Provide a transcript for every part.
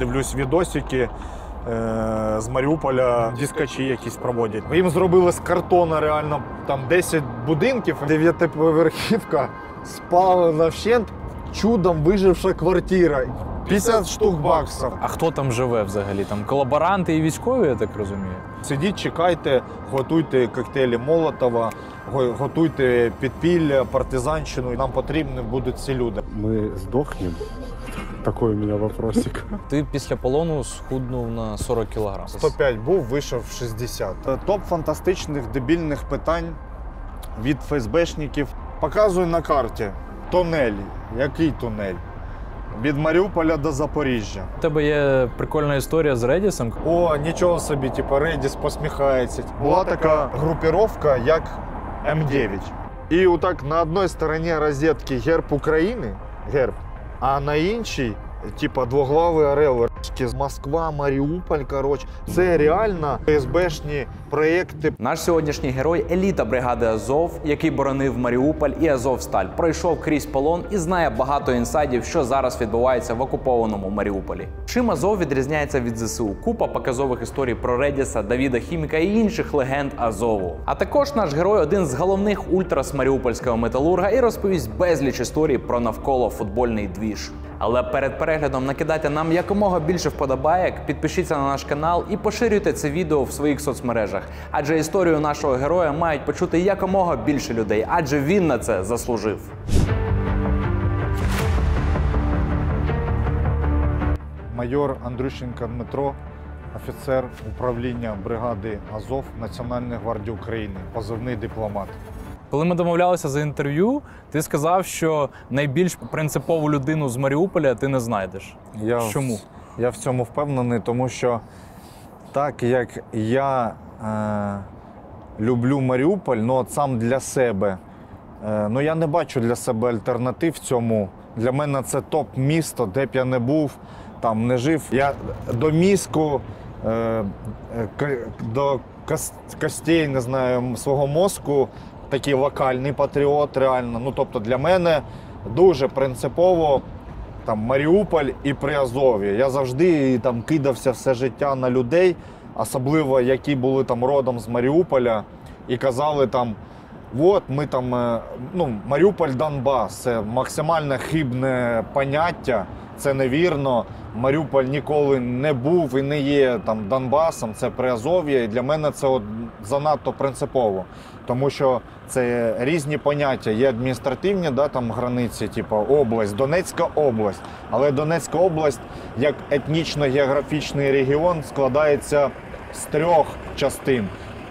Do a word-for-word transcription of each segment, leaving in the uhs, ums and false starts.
Дивлюсь відосики е з Маріуполя, дискачі якісь проводять. Їм зробили з картона реально там десять будинків, дев'ятиповерхівка, спалена вщент, чудом виживша квартира. п'ятдесят штук баксів. А хто там живе взагалі? Там колаборанти і військові, я так розумію? Сидіть, чекайте, готуйте коктейлі Молотова, готуйте підпілля, партизанщину. Нам потрібні будуть ці люди. Ми здохнемо? Такий у мене вопросик. Ти після полону схуднув на сорок кілограм. сто п'ять був, вийшов шістдесят. Топ фантастичних дебільних питань від ФСБшників. Показую на карті. Тунель. Який тунель? Від Маріуполя до Запоріжжя. У тебе є прикольна історія з Редісом. О, нічого собі, типу, Редіс посміхається. Була така групіровка, як М дев'ять. І отак на одній стороні розетки герб України, герб, а на іншій, типу, двоглавий орел. Москва, Маріуполь, коротше. Це реально ФСБшні проєкти. Наш сьогоднішній герой – еліта бригади Азов, який боронив Маріуполь і Азовсталь, пройшов крізь полон і знає багато інсайдів, що зараз відбувається в окупованому Маріуполі. Чим Азов відрізняється від ЗСУ? Купа показових історій про Редіса, Давіда Хіміка і інших легенд Азову. А також наш герой – один з головних ультрас маріупольського металурга і розповість безліч історій про навколо футбольний двіж. Але перед переглядом накидайте нам якомога більше вподобайок, підпишіться на наш канал і поширюйте це відео в своїх соцмережах. Адже історію нашого героя мають почути якомога більше людей, адже він на це заслужив. Майор Андрющенко Дмитро, офіцер управління бригади Азов Національної гвардії України, позивний дипломат. Коли ми домовлялися за інтерв'ю, ти сказав, що найбільш принципову людину з Маріуполя ти не знайдеш. Я Чому? В, я в цьому впевнений, тому що так як я е, люблю Маріуполь, ну от сам для себе, е, ну я не бачу для себе альтернатив в цьому. Для мене це топ-місто, де б я не був, там не жив. Я до мізку, е, до костей, не знаю, свого мозку, такий локальний патріот, реально. Ну, тобто для мене дуже принципово там Маріуполь і Приазов'я. Я завжди там кидався все життя на людей, особливо які були там родом з Маріуполя, і казали там, от ми там, ну, Маріуполь, Донбас, це максимально хибне поняття, це невірно. Маріуполь ніколи не був і не є там Донбасом, це Приазов'я, і для мене це от занадто принципово. Тому що це різні поняття. Є адміністративні, да, там границі, типу область, Донецька область. Але Донецька область, як етнічно-географічний регіон, складається з трьох частин.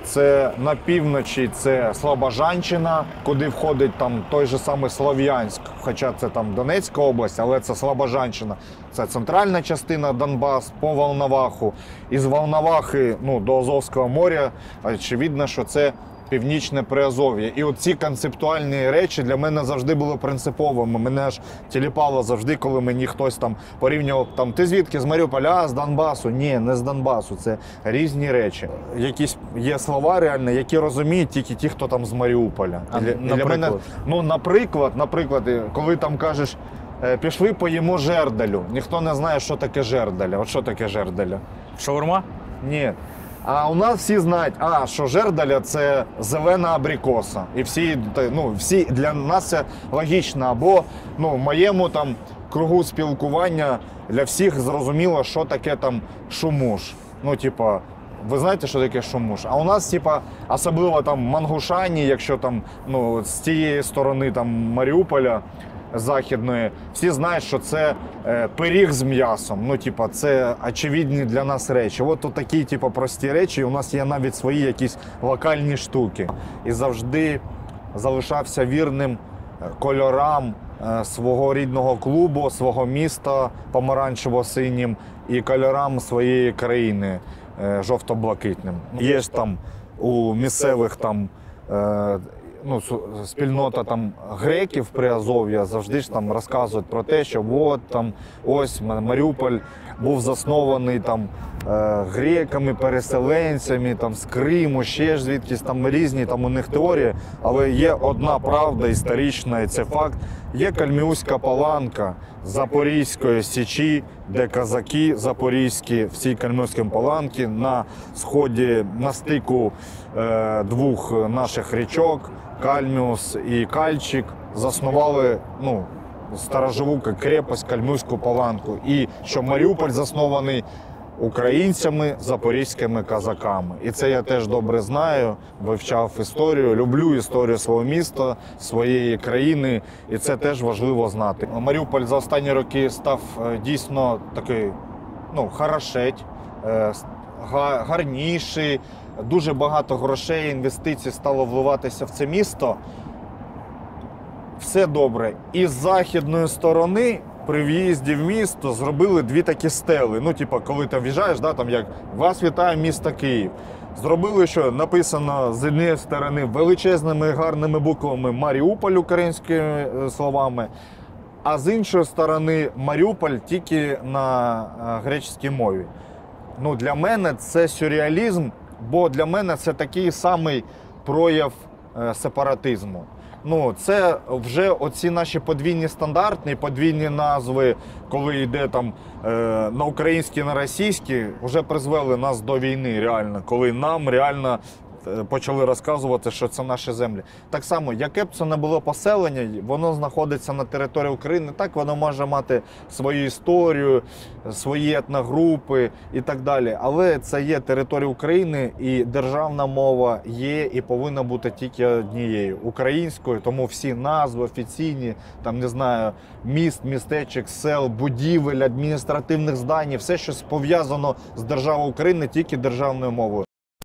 Це на півночі це Слобожанщина, куди входить там той же самий Слов'янськ, хоча це там Донецька область, але це Слобожанщина. Це центральна частина Донбас по Волноваху. Із Волновахи, ну, до Азовського моря, очевидно, що це Північне Приазов'я. І оці концептуальні речі для мене завжди були принциповими. Мене аж тіліпало завжди, коли мені хтось там порівнював, там, ти звідки, з Маріуполя, а з Донбасу? Ні, не з Донбасу, це різні речі. Якісь є слова реально, які розуміють тільки ті, хто там з Маріуполя. А, для, наприклад? для мене, ну, наприклад, наприклад, коли там кажеш, пішли поїмо жерделю, ніхто не знає, що таке жерделя. От що таке жерделя? Шаурма? Ні. А у нас всі знають, а, що жерделя – це зелена абрикоса. І всі, ну, всі, для нас це логічно. Або, ну, в моєму там кругу спілкування для всіх зрозуміло, що таке там шумуш. Ну, типа, ви знаєте, що таке шумуш? А у нас, типа, особливо там Мангушані, якщо там, ну, з тієї сторони там Маріуполя, західної, всі знають, що це е, пиріг з м'ясом. Ну, типа, це очевидні для нас речі. От тут такі, типа, прості речі, у нас є навіть свої якісь локальні штуки. І завжди залишався вірним кольорам е, свого рідного клубу, свого міста помаранчево-синім і кольорам своєї країни е, жовто-блакитним. Є ж там у місцевих там е, ну, спільнота там греків Приазов'я завжди ж там розказують про те, що от там ось Маріуполь був заснований там греками, переселенцями там з Криму, ще ж звідкись там різні там у них теорії, але є одна правда історична, і це факт, Є Кальміуська Паланка Запорізької Січі, де козаки запорізькі в цій Кальміуській Паланці на сході, на стику е, двох наших річок, Кальміус і Кальчик, заснували, ну, сторожову крепость Кальміуську Паланку. І що Маріуполь заснований українцями, запорізькими козаками. І це я теж добре знаю, вивчав історію, люблю історію свого міста, своєї країни, і це теж важливо знати. Маріуполь за останні роки став дійсно такий, ну, хорошеть, гарніший, дуже багато грошей, інвестицій стало вливатися в це місто. Все добре. І з західної сторони при в'їзді в місто зробили дві такі стели. Ну, типу, коли ти в'їжджаєш, да, там як «Вас вітає місто Київ». Зробили, що написано з однієї сторони величезними гарними буквами «Маріуполь» українськими словами, а з іншої сторони «Маріуполь» тільки на греческій мові. Ну, для мене це сюрреалізм, бо для мене це такий самий прояв сепаратизму. Ну, це вже оці наші подвійні стандарти, подвійні назви, коли йде там е, на українські, на російські, вже призвели нас до війни реально, коли нам реально почали розказувати, що це наші землі. Так само, яке б це не було поселення, воно знаходиться на території України, так воно може мати свою історію, свої етногрупи і так далі. Але це є територія України, і державна мова є і повинна бути тільки однією – українською. Тому всі назви офіційні, там, не знаю, міст, містечок, сел, будівель, адміністративних здань, все, що пов'язано з державою України, тільки державною мовою.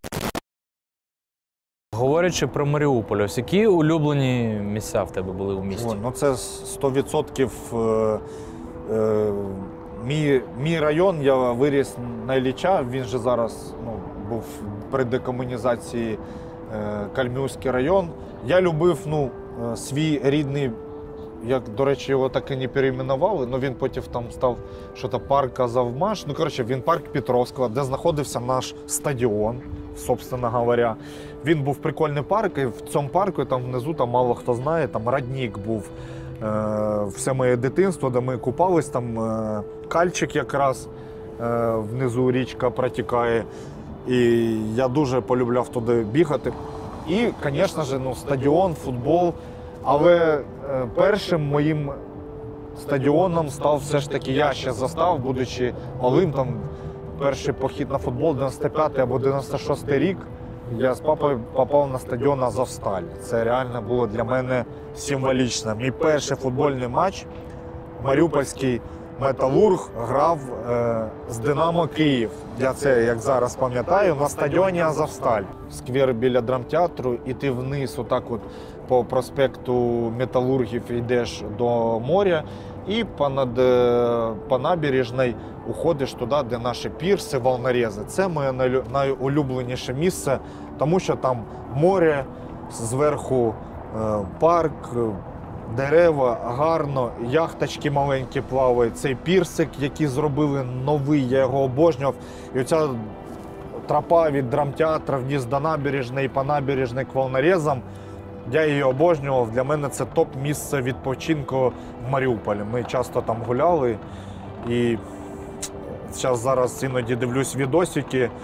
Говорячи про Маріуполь, ось які улюблені місця в тебе були у місті? О, ну це сто відсотків е, е, мій, мій район, я виріс на Ілліча, він же зараз, ну, був при декомунізації е, Кальміуський район. Я любив, ну, свій рідний, як, до речі, його так і не перейменували, але він потім там став що-то парк Азовмаш. Ну, коротше, він парк Петровського, де знаходився наш стадіон, собственно говоря. Він був прикольний парк, і в цьому парку, там внизу, там мало хто знає, там родник був. Е, все моє дитинство, де ми купались, там е, Кальчик якраз, е, внизу річка протікає. І я дуже полюбляв туди бігати. І, звісно ж, ну, стадіон, футбол. Але е, першим моїм стадіоном став все ж таки, я ще застав, будучи малим, там перший похід на футбол, дев'яносто п'ятий або дев'яносто шостий рік, я з папою попав на стадіон Азовсталь. Це реально було для мене символічно. Мій перший футбольний матч, маріупольський Металург грав е, з Динамо Київ. Я це, як зараз пам'ятаю, на стадіоні Азовсталь. Сквер біля драмтеатру, і ти вниз, отак от по проспекту Металургів йдеш до моря, і понад, по набережній уходиш туди, де наші пірси, волнорези. Це моє найулюбленіше місце, тому що там море, зверху парк, дерева, гарно, яхточки маленькі плавають. Цей пірсик, який зробили новий, я його обожнював. І оця тропа від драмтеатру вниз до набережної, по набережній к волнорезам, я її обожнював. Для мене це топ-місце відпочинку в Маріуполі. Ми часто там гуляли. І зараз, зараз іноді дивлюсь відосики е,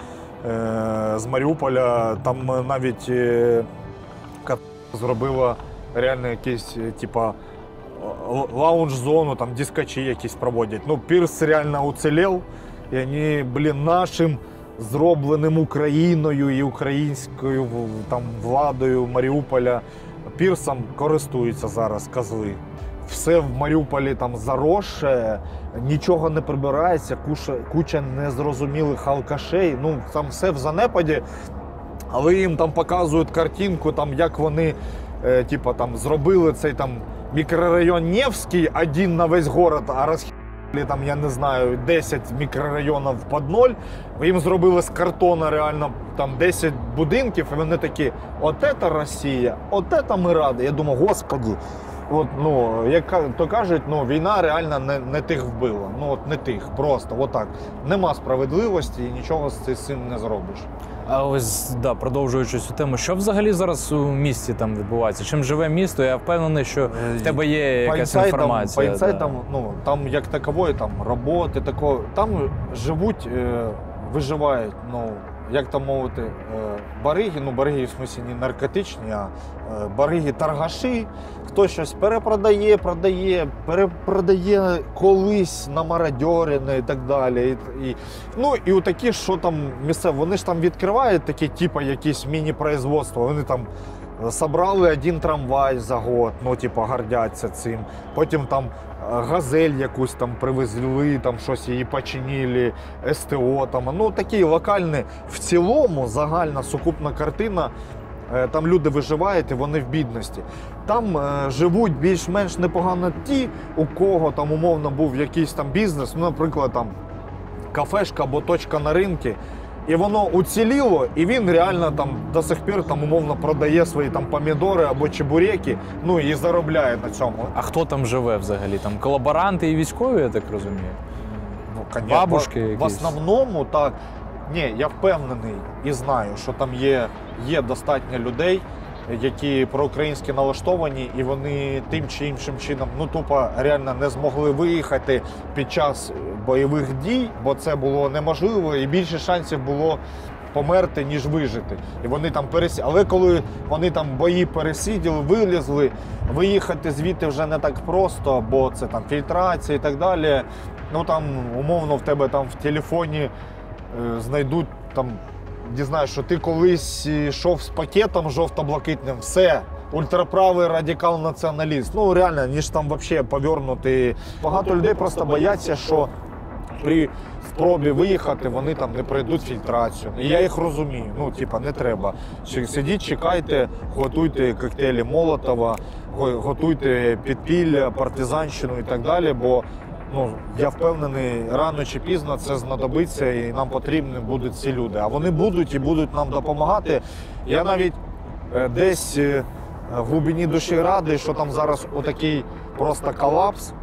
з Маріуполя. Там навіть е, зробила реально якісь, типа, лаунж-зону, там дискачі якісь проводять. Ну, пірс реально уцілів, і вони, блін, нашим зробленим Україною і українською там владою Маріуполя пірсом користуються зараз козли. Все в Маріуполі там заросше, нічого не прибирається, куча, куча незрозумілих алкашей, ну там все в занепаді, але їм там показують картинку, там як вони е, типа, там, зробили цей там мікрорайон Невський один на весь город, а розхи... там, я не знаю, десять мікрорайонів під ноль, їм зробили з картона реально там десять будинків, і вони такі, от це Росія, от це ми раді. Я думаю, господи, от, ну, як то кажуть, ну, війна реально не, не тих вбила, ну от не тих, просто, отак. Нема справедливості і нічого з цим не зробиш. А ось, да, продовжуючи цю тему, що взагалі зараз у місті там відбувається? Чим живе місто? Я впевнений, що в тебе є По якась інсайдам, інформація. по інсайдам, да. ну, там як такової, там роботи, такого, там живуть, е, виживають, ну, як там мовити, е, бариги, ну бариги в смислі не наркотичні, а е, бариги торгаші, хто щось перепродає, продає, перепродає колись на мародьорини і так далі. І, і, ну і такі, що там місцеві, вони ж там відкривають такі, типу, якісь міні-производства, вони там собрали один трамвай за год, ну, типу, гордяться цим. Потім там газель якусь там привезли, там щось її починили, СТО там. Ну, такі локальні. В цілому загальна сукупна картина, там люди виживають і вони в бідності. Там е, живуть більш-менш непогано ті, у кого там умовно був якийсь там бізнес, ну, наприклад, там кафешка або точка на ринку. І воно уціліло, і він реально там до сих пір там умовно продає свої там помідори або чебуреки, ну і заробляє на цьому. А хто там живе взагалі? Там колаборанти і військові, я так розумію? Ну, конечно, Бабушки в, в якісь? основному так. Ні, я впевнений і знаю, що там є, є достатньо людей, які проукраїнськи налаштовані, і вони тим чи іншим чином, ну тупо реально не змогли виїхати під час бойових дій, бо це було неможливо, і більше шансів було померти, ніж вижити. І вони там пересі... Але коли вони там бої пересиділи, вилізли, виїхати звідти вже не так просто, бо це там фільтрація і так далі. Ну там умовно в тебе там в телефоні е, знайдуть там, дізнаюсь, що ти колись йшов з пакетом жовто-блакитним, все, ультраправий радикал-націоналіст. Ну реально, ніж там взагалі повернути. Багато людей просто бояться, що при спробі виїхати вони там не пройдуть фільтрацію. І я їх розумію, ну типа не треба. Сидіть, чекайте, готуйте коктейлі Молотова, готуйте підпілля, партизанщину і так далі, бо ну, я впевнений, рано чи пізно це знадобиться і нам потрібні будуть ці люди. А вони будуть і будуть нам допомагати. Я навіть е, десь е, в глибині душі радий, що там зараз отакий просто колапс,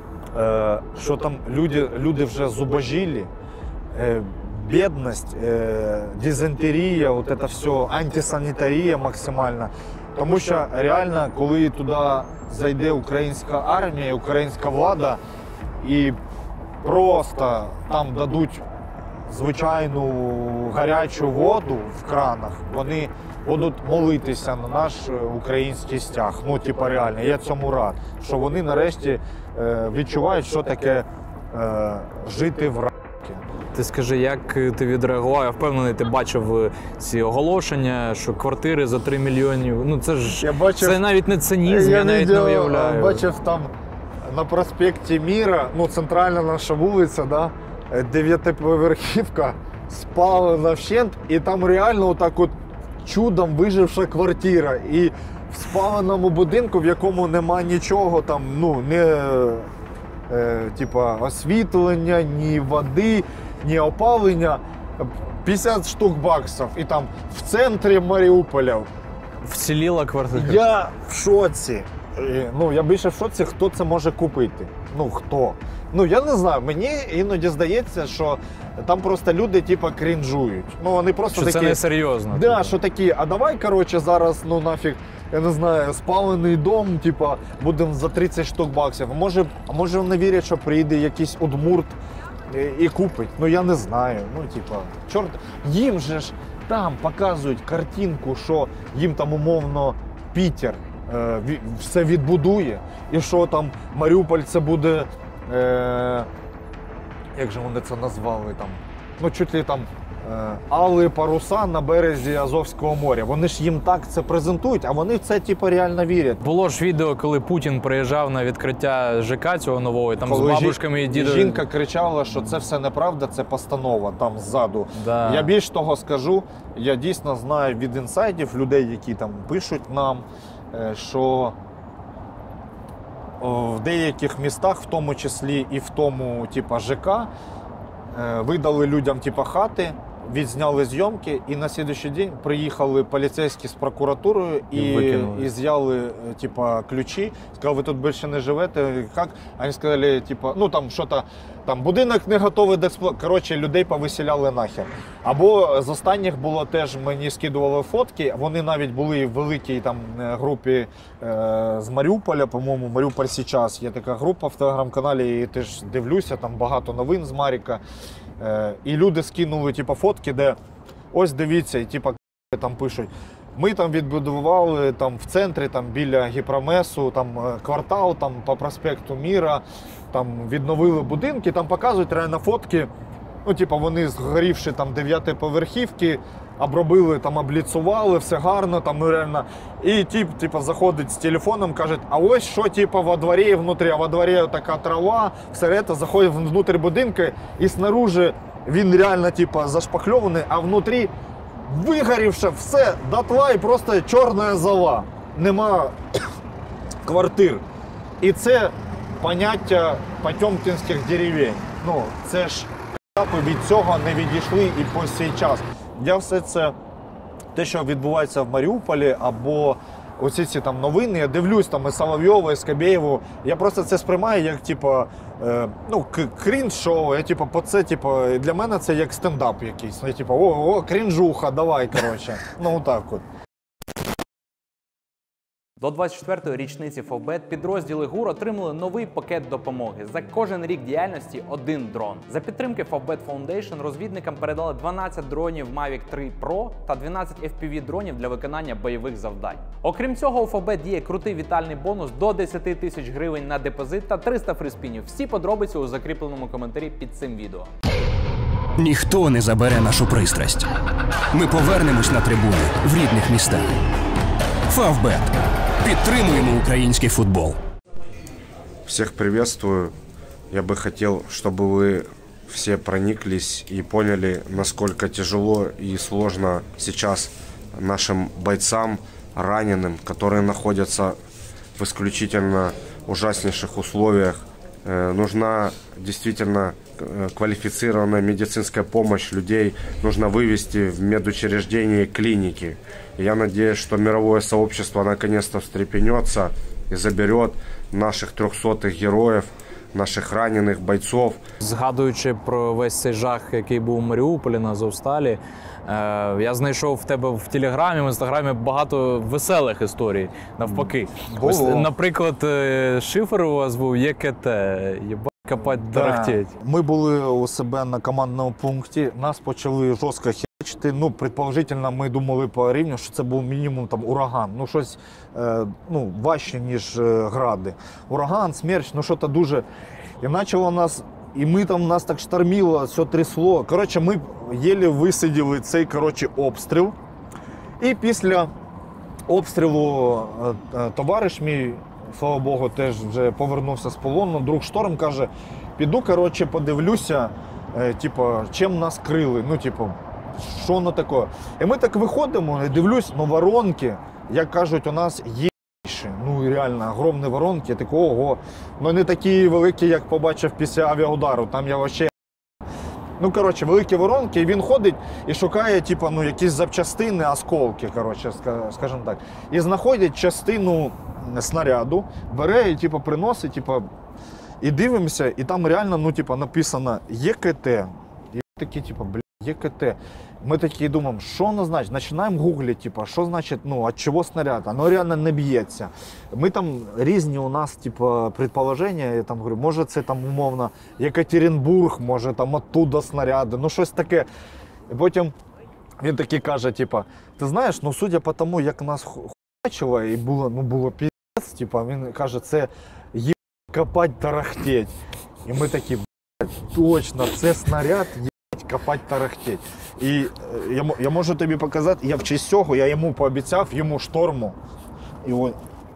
е, що там люди, люди вже зубожілі, е, бідність, е, дизентерія, от це все, антисанітарія максимальна. Тому що реально, коли туди зайде українська армія, українська влада, і просто там дадуть звичайну гарячу воду в кранах, вони будуть молитися на наш український стяг. Ну, типа реально, я цьому рад, що вони нарешті е, відчувають, що таке е, жити в раді. Ти скажи, як ти відреагував? Я впевнений, ти бачив ці оголошення, що квартири за три мільйони. Ну це ж Я бачив, це навіть не цинізм, я, я навіть відео, не уявляю. Бачив там на проспекті Міра, ну центральна наша вулиця, да, дев'ятиповерхівка, спалена вщент, і там реально отак от чудом виживша квартира. І в спаленому будинку, в якому нема нічого, там, ну, не е, типа освітлення, ні води, ні опалення, п'ятдесят штук баксів. І там в центрі Маріуполя. Вціліла квартира. Я в шоці. Ну, я більше в шоці, хто це може купити. Ну, хто? Ну, я не знаю, мені іноді здається, що там просто люди, типа, крінжують. Ну, вони просто що такі... це не серйозно. Да, типу. що такі, а давай, коротше, зараз, ну, нафіг, я не знаю, спалений дом, типа, будемо за тридцять штук баксів. А може, а може вони вірять, що прийде якийсь удмурт і, і купить? Ну, я не знаю. Ну, типа, чорт, їм же ж там показують картинку, що їм там умовно Пітер все відбудує, і що там Маріуполь це буде, е, як же вони це назвали, там, ну чуть ли там е, али паруса на березі Азовського моря. Вони ж їм так це презентують, а вони в це типу реально вірять. Було ж відео, коли Путін приїжджав на відкриття ЖК цього нового, і там коли з бабушками і дідом. Жінка кричала, що це все неправда, це постанова там ззаду. Да. Я більш того скажу, я дійсно знаю від інсайдів людей, які там пишуть нам, що в деяких містах, в тому числі і в тому типу, ЖК, видали людям типу, хати, відзняли зйомки, і на слідуючий день приїхали поліцейські з прокуратурою і, І і з'яли типа, ключі. Сказали, ви тут більше не живете. Як? Вони сказали, типа, ну там що-то, там будинок не готовий до експлуатації. Коротше, людей повиселяли нахер. Або з останніх було теж, мені скидували фотки, вони навіть були в великій там групі е, з Маріуполя, по-моєму, Маріуполь сейчас. Є така група в телеграм-каналі, і теж дивлюся, там багато новин з Маріка. Е, і люди скинули типу, фотки, де ось дивіться, і типу, там пишуть, ми там відбудували там, в центрі, там, біля Гіпромесу, там, квартал там, по проспекту Міра, там, відновили будинки, там показують реально фотки, ну, типу, вони згорівши там дев'ятиповерхівки, обробили, там, обліцували, все гарно, там, ну, реально. І тип, типу, заходить з телефоном, каже, а ось що, типу, во дворі і внутрі, а во дворі така трава, все це, заходить внутрі будинку, і снаружи він реально, типу, зашпакльований, а внутрі вигорівше все дотла і просто чорна зола. Нема квартир. І це поняття потьомкінських деревень. Ну, це ж від цього не відійшли і по цей час. Я все це, те, що відбувається в Маріуполі, або оці ці там новини, я дивлюсь там і Соловйова, і Скабєєву, я просто це сприймаю як, типу, е, ну, крінж-шоу, я, типу, по це, типу, для мене це як стендап якийсь, ну, я, типу, о, о, крінжуха, давай, коротше, ну, так от. До двадцять четвертої річниці Фавбет підрозділи ГУР отримали новий пакет допомоги. За кожен рік діяльності один дрон. За підтримки Фавбет Foundation розвідникам передали дванадцять дронів Mavic три Pro та дванадцять еф пі ві-дронів для виконання бойових завдань. Окрім цього, у Фавбет діє крутий вітальний бонус до десять тисяч гривень на депозит та триста фріспінів. Всі подробиці у закріпленому коментарі під цим відео. Ніхто не забере нашу пристрасть. Ми повернемось на трибуни в рідних містах. Фавбет. Підтримуємо український футбол. Всех приветствую. Я бы хотел, чтобы вы все прониклись и поняли, насколько тяжело и сложно сейчас нашим бойцам, раненым, которые находятся в исключительно ужаснейших условиях. Нужна действительно квалифицированная медицинская помощь людей, нужно вывести в медучреждения и клиники. И я надеюсь, что мировое сообщество наконец-то встрепенется и заберет наших трехсотых героев, наших ранених бойцов. Згадуючи про весь цей жах, який був у Маріуполі на Азовсталі, я знайшов в тебе в Телеграмі, в Інстаграмі багато веселих історій, навпаки. Ось, наприклад, шифр у вас був Є Ке Те, єбать копать тарахтеть. Ми були у себе на командному пункті, нас почали жорстко херачити. Ну, предположительно, ми думали по рівню, що це був мінімум там ураган. Ну, щось е, ну, важче, ніж е, гради. Ураган, смерч, ну, що-то дуже. І почало нас, і ми там, нас так штормило, все трясло. Коротше, ми єлі висиділи цей, коротше, обстріл. І після обстрілу е, е, товариш мій, слава Богу, теж вже повернувся з полону. Друг Шторм каже, піду, коротше, подивлюся, е, типу, чим нас крили, ну, типу, що воно таке. І ми так виходимо, і дивлюсь, ну, воронки, як кажуть, у нас є, ну, реально, огромні воронки, такі, ого, ну, не такі великі, як побачив після авіаудару, там я вообще. Ну, коротше, великі воронки, і він ходить і шукає, типу, ну, якісь запчастини, осколки, коротше, скажімо так. І знаходить частину снаряду, бере і, типу, приносить, типу, і дивимося, і там реально, ну, типу, написано Є Ке Те. І такі, типу, блядь, Є Ке Те. Ми такі думаємо, що воно значить? Починаємо гуглити, типу, що значить, ну, від чого снаряд? Воно реально не б'ється. Ми там різні у нас, типу, предположення, я там говорю, може це там, умовно, Єкатеринбург, може там оттуда снаряди, ну, щось таке. І потім він такий каже, типу, ти знаєш, ну, судя по тому, як нас хуячило, і було, ну, було піздець, типу, він каже, це є копать тарахтеть. І ми такі, блядь, точно, це снаряд, копать тарахтеть. І я, я можу тобі показати, я в честь цього, я йому пообіцяв, йому Шторму. І ось.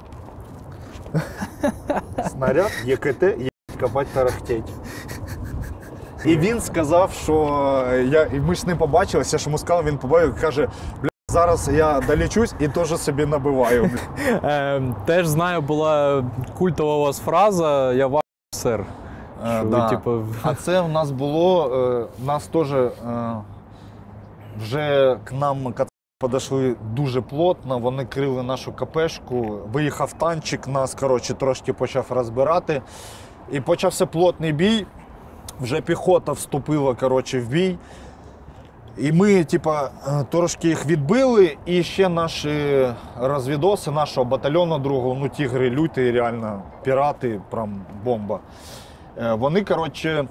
Снаряд, Є Ке Те, є копать тарахтеть. І він сказав, що я, і ми ж з ним побачилися, я ж йому сказав, він побачив, каже, бля, зараз я долічусь і теж собі набиваю. Е, теж знаю, була культова у вас фраза «Я ваш сер». Е, Що да. ви, типу... А це у нас було, е, нас теж, е, вже к нам кацапи підійшли дуже плотно, вони крили нашу КПшку, виїхав танчик, нас, коротше, трошки почав розбирати. І почався плотний бій, вже піхота вступила, коротше, в бій. І ми, типа, трошки їх відбили, і ще наші розвідоси нашого батальйону другого, ну, тігри люті, реально, пірати, прям бомба. Вони, коротше,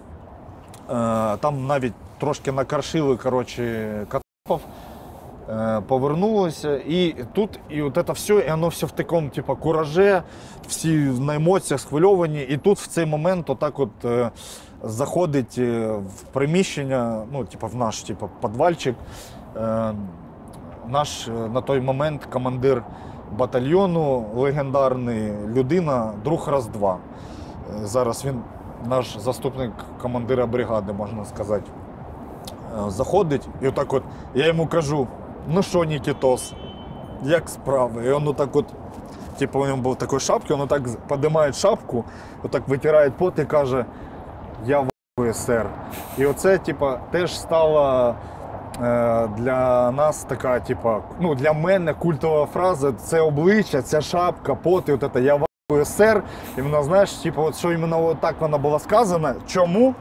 там навіть трошки накаршили, коротше, кацапів, повернулися, і тут, і от це все, і воно все в такому, типа, кураже, всі на емоціях схвильовані, і тут в цей момент отак от заходить в приміщення, ну, типу, в наш, типу, підвальчик, е, наш на той момент командир батальйону, легендарний людина, друг раз-два. Е, зараз він наш заступник командира бригади, можна сказати. Е, заходить і отак от, я йому кажу, ну що, Нікітос, як справи? І він отак от, типу, у нього був такий шапки, він отак піднімає шапку, отак витирає пот і каже, я в СР. І оце, типа, теж стала е, для нас така, типа, ну, для мене культова фраза, це обличчя, ця шапка, пот, і от це я в СР. І вона, знаєш, типа, от що іменно от так вона була сказана. Чому?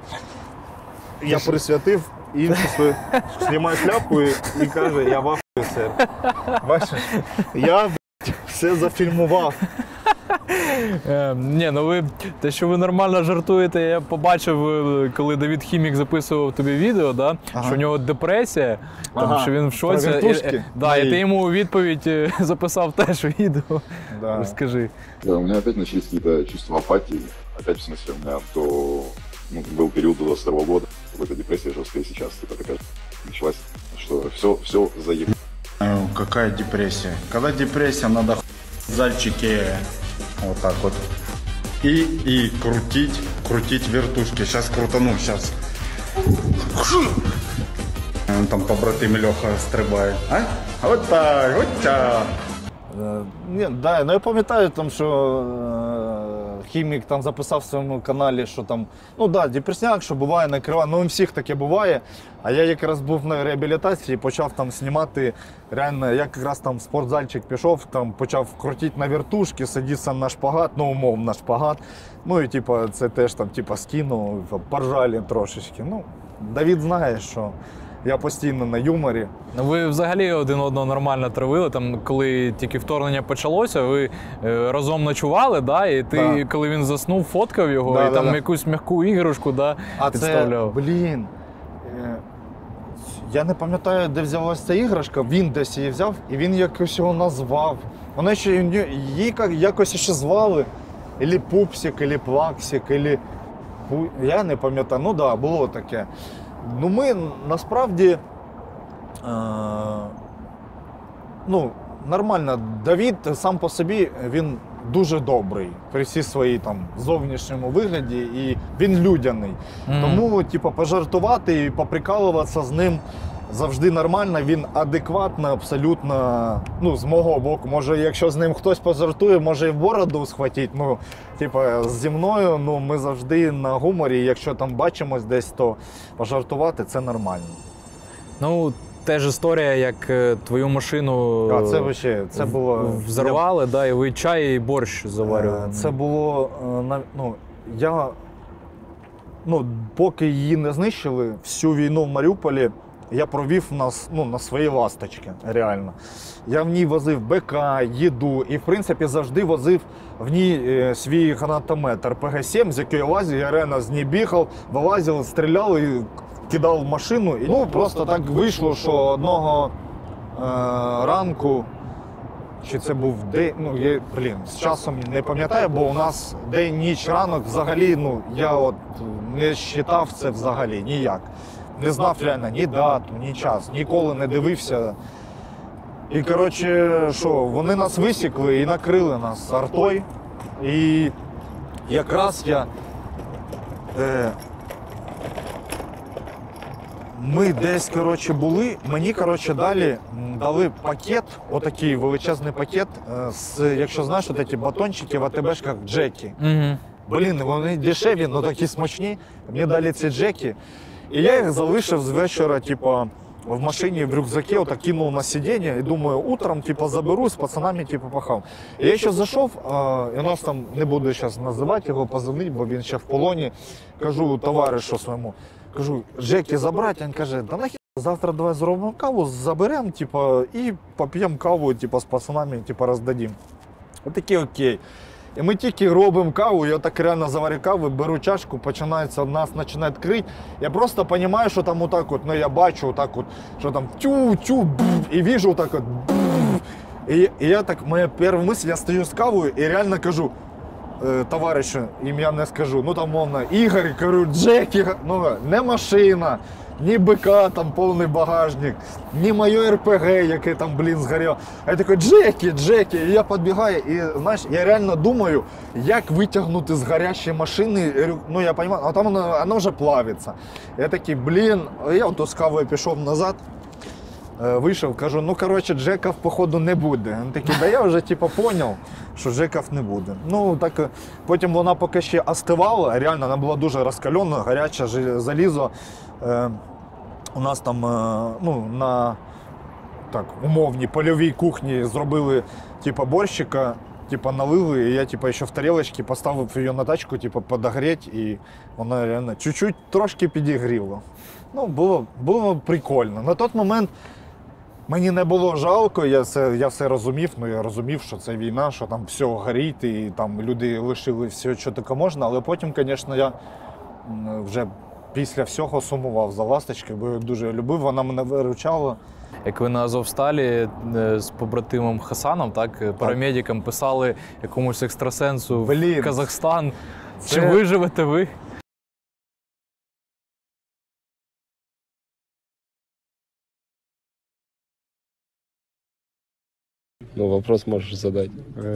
Я присвятив іншу свою, знімаю шляпку і, і каже, я в СР. Бачиш? Я все зафільмував. Е, ні, ну ви, те, що ви нормально жартуєте, я побачив, коли Давід Хімік записував тобі відео, да, ага. що у нього депресія, там, ага. що він в шоці. Про вертушки? І, да, і ти йому у відповідь записав теж відео. Да. Розкажи. Да, у меня опять начались какие-то чувства апатии. Опять, в смысле, у меня то ну, был период до двадцать второго года, какая-то депрессия жесткая, сейчас типа такая началась, что все, все заеб... Какая депрессия? Когда депрессия, надо в зальчике вот так вот и, и крутить, крутить вертушки. Сейчас крутану, сейчас. Там побратим Леха стрибає. А? Вот так, вот так. Ні, да, ну я пам'ятаю, там, що е, Хімік там записав в своєму каналі, що там, ну да, депресняк, що буває, накриває, ну у всіх таке буває. А я якраз був на реабілітації, почав там знімати, реально, я якраз там в спортзальчик пішов, там почав крутити на вертушки, сидітися на шпагат, ну умов на шпагат. Ну і типа, це теж там типа скинув, поржали трошечки. Ну, Давід знає, що я постійно на юморі. Ну, ви взагалі один одного нормально травили, там, коли тільки вторгнення почалося, ви е, разом ночували, да? І ти, Да. коли він заснув, фоткав його, Да, і да, там да. якусь м'яку іграшку, да, А підставляв. це, блін, е, я не пам'ятаю, де взялася ця іграшка, він десь її взяв, і він якось його назвав. Вона ще, її якось ще звали, ілі Пупсик, ілі Плаксик, ілі... Я не пам'ятаю, ну так, да, було таке. Ну ми насправді, е, ну, нормально, Давід сам по собі, він дуже добрий при всій своїй там зовнішньому вигляді, і він людяний. Mm-hmm. Тому, типу, пожартувати і поприкалуватися з ним завжди нормально, він адекватно, абсолютно, ну, з мого боку. Може, якщо з ним хтось пожартує, може і в бороду схватить. Ну, типу, зі мною, ну, ми завжди на гуморі, якщо там бачимось десь, то пожартувати – це нормально. Ну, теж історія, як твою машину А, це вообще, це було... взорвали, да, і ви чай і борщ заварювали. Це було, ну, я, ну, поки її не знищили, всю війну в Маріуполі я провів нас, ну, на свої ласточки, реально. Я в ній возив БК, їду і, в принципі, завжди возив в ній е, свій гранатомет ер пе ге сім, з якої я лазив, я реально з ній бігав, вилазив, стріляв і кидав в машину. І, ну, просто так вийшло, що одного е, ранку, чи це був день, ну, я, блін, з часом не пам'ятаю, бо у нас день, ніч, ранок взагалі, ну, я от не вважав це взагалі ніяк. Не знав реально ні дату, ні час, ніколи не дивився. І, коротше, що, вони нас висікли і накрили нас артою. І якраз я... Е, ми десь, коротше, були, мені, коротше, далі дали пакет, отакий величезний пакет, з, якщо знаєш, от ці батончики в АТБшках Джекі. Угу. Блін, вони дешеві, але такі смачні. Мені дали ці Джекі. І я їх залишив з вечора, типу, в машине, в рюкзаке, вот так кинул на сиденье и думаю, утром, типа, заберу, с пацанами, типа, пахав. І я ще зайшов, а, і у нас там, не буду зараз називати його, позвонити, бо він ще в полоні. Кажу товаришу своєму, кажу, Джекі забрати, він каже, да нахер, завтра давай зробимо каву, заберемо, типа, і поп'ємо каву, типа, з пацанами, типа, роздадим. Отакі окей. І ми тільки робимо каву, я так реально заварю каву, беру чашку, починається, нас починає крити. Я просто розумію, що там отак от, ну я бачу отак от, що там тю-тю, і вижу отак от. І, і я так, моя перша мисль, я стою з кавою і реально кажу, е, товаришу, ім'я не скажу, ну там мовно, Ігор, кажу, Джекі, ну не машина, ні БК, там повний багажник, ні моє РПГ, яке там, блін, згоріло. А я такий, Джекі, Джекі, і я підбігаю, і, знаєш, я реально думаю, як витягнути з гарячої машини, ну, я розумію, а там воно, воно вже плавиться. Я такий, блін, я от з кавою пішов назад, вийшов, кажу, ну, коротше, Джеків, походу, не буде. Він такий, да я вже, типу, зрозумів, що Джеків не буде. Ну, так, потім вона поки ще остивала, реально, вона була дуже розкалена, гаряче залізо. Е, у нас там, е, ну, на, так, умовній польовій кухні зробили, типу, борщика, типу, налили, і я, типу, ще в тарілочці поставив її на тачку, типу, подогріти, і вона реально чуть-чуть трошки підігріла. Ну, було, було прикольно. На той момент мені не було жалко, я все, я все розумів, ну я розумів, що це війна, що там все горить, і там люди лишили все, що таке можна, але потім, звісно, я вже після всього сумував за ласточкою, бо я дуже любив, вона мене виручала. Як ви на Азовсталі з побратимом Хасаном, так, парамедикам писали якомусь екстрасенсу Блін. в Казахстан, Це... чи виживете ви? Ну, вопрос можешь задать.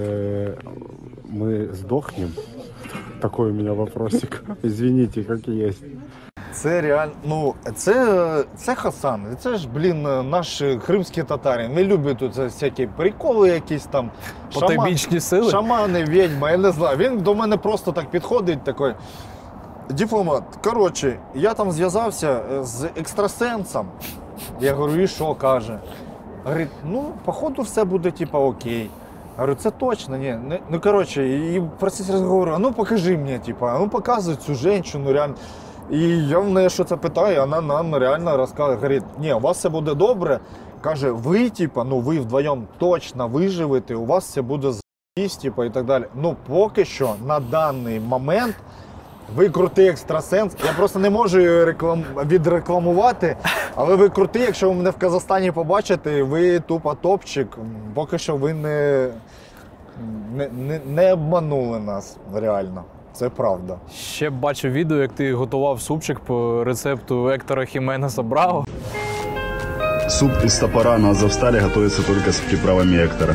Мы сдохнем? Такой у меня вопросик. Извините, как есть. Це реально, ну, це, це Хасан, це ж, блін, наш кримський татарин. Не любить тут всякі приколи якісь там. Потойбічні сили? Шамани, відьма, я не знаю. Він до мене просто так підходить, такий, дипломат. Коротше, я там зв'язався з екстрасенсом. Я говорю, і що, каже? Говорить, ну, походу все буде, типа, окей. Говорю, це точно, ні. Ну, коротше, і процес розговору, а ну покажи мені, типа, ну показуй цю жінку, реально. І я в неї що це питаю, вона нам реально розказує, говорить, ні, у вас все буде добре. Каже, ви, типа, ну ви вдвоєм точно виживете, у вас все буде з***сь, типа, і так далі. Ну, поки що, на даний момент, ви крутий екстрасенс. Я просто не можу її реклам... відрекламувати, але ви крутий, якщо ви мене в Казахстані побачите, ви тупо топчик. Поки що ви не, не, не, не обманули нас, реально. Це правда. Ще бачив відео, як ти готував супчик по рецепту Ектора Хіменеса Браво. Суп из топора на Азовстале готовится только с приправами Эктора.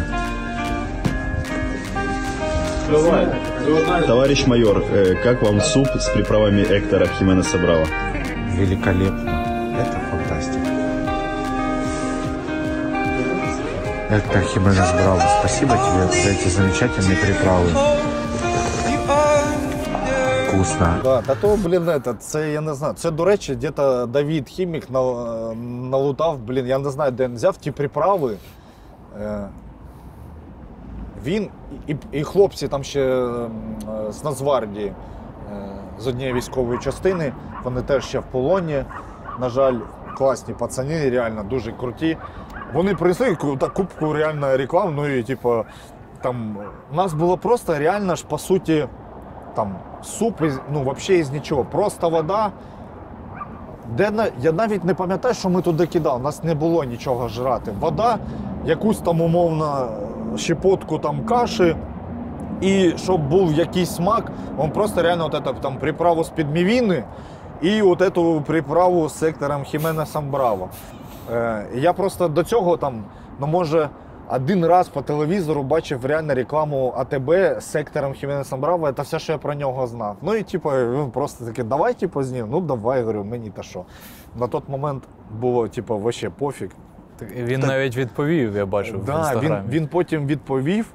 Товарищ майор, э, как вам суп с приправами Эктора Хименеса Браво? Великолепно. Это фантастика. Эктор Хименес Браво, спасибо тебе за эти замечательные приправы. Вкусно. Да, та то, блін, это, це, я не знаю, це, до речі, десь Давід Хімік налутав, блін, я не знаю, де він взяв ті приправи. Він і, і хлопці там ще з Нацгвардії, з однієї військової частини, вони теж ще в полоні. На жаль, класні пацани, реально дуже круті. Вони принесли кубку реально реклам, ну і типу, там, у нас було просто реально ж, по суті, там, суп, із, ну, взагалі із нічого, просто вода. Де, я навіть не пам'ятаю, що ми туди кидали, у нас не було нічого жрати. Вода, якусь там умовно щепотку там каші, і щоб був якийсь смак, він просто реально от это, там, приправу з-під мівіни і от эту приправу з Ектором Хіменесом Браво. Е, я просто до цього там, ну може, один раз по телевізору бачив реально рекламу АТБ з Ектором Хіменесом Браво, це все, що я про нього знав. Ну і типу, він просто такий, давай типу, знімемо, ну давай, говорю, мені та що. На той момент було типу, вообще пофіг. Він так, навіть відповів, я бачив, да, в інстаграмі. Він, він потім відповів.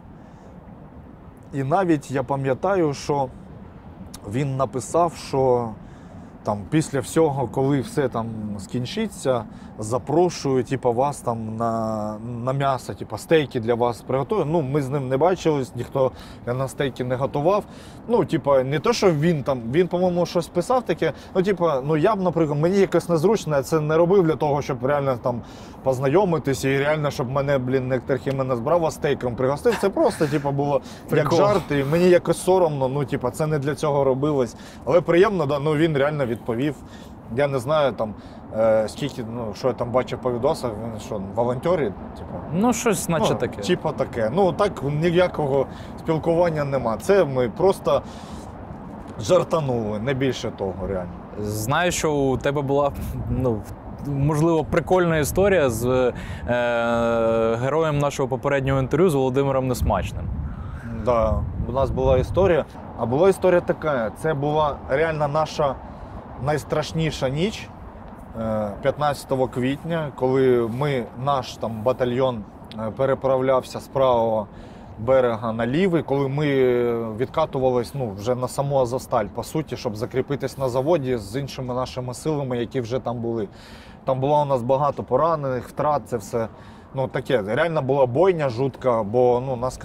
І навіть я пам'ятаю, що він написав, що там, після всього, коли все там скінчиться, запрошую типу, вас там на, на м'ясо, типу, стейки для вас приготую. Ну, ми з ним не бачились, ніхто на стейки не готував. Ну, типу, не то, що він там, він, по-моєму, щось писав таке. Ну, типу, ну я б, наприклад, мені якось незручно, я це не робив для того, щоб реально там познайомитися і реально, щоб мене, блін, Нектор Хіменес брав, а стейком пригостив. Це просто, типу, було як жарт, і мені якось соромно, ну, типу, це не для цього робилось. Але приємно, да, ну, він реально відповів. Я не знаю, там, е, скільки, ну, що я там бачив по відосах, він що, волонтери, типу? Ну, щось наче ну, таке. Типу таке. Ну, так ніякого спілкування нема. Це ми просто жартанули, не більше того, реально. Знаю, що у тебе була, ну, можливо, прикольна історія з е, героєм нашого попереднього інтерв'ю, з Володимиром Несмачним. Так, да, у нас була історія. А була історія така, це була реально наша найстрашніша ніч п'ятнадцятого квітня, коли ми, наш там батальйон переправлявся з правого берега на лівий, коли ми відкатувались ну, вже на саму Азовсталь, по суті, щоб закріпитись на заводі з іншими нашими силами, які вже там були. Там було у нас багато поранених, втрат, це все ну, таке. Реально була бойня жутка, бо ну, нас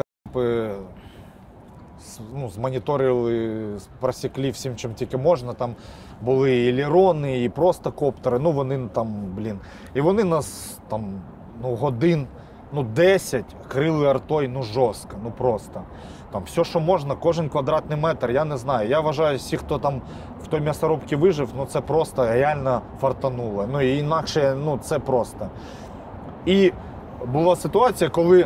ну, змоніторили, просікли всім, чим тільки можна. Там були і лірони, і просто коптери. Ну, вони там, блін. І вони нас там ну, годин ну, десять крили артою, ну, жорстко, ну, просто. Там все, що можна, кожен квадратний метр, я не знаю. Я вважаю, всі, хто там в той м'ясорубці вижив, ну, це просто реально фартануло. Ну, і інакше, ну, це просто. І була ситуація, коли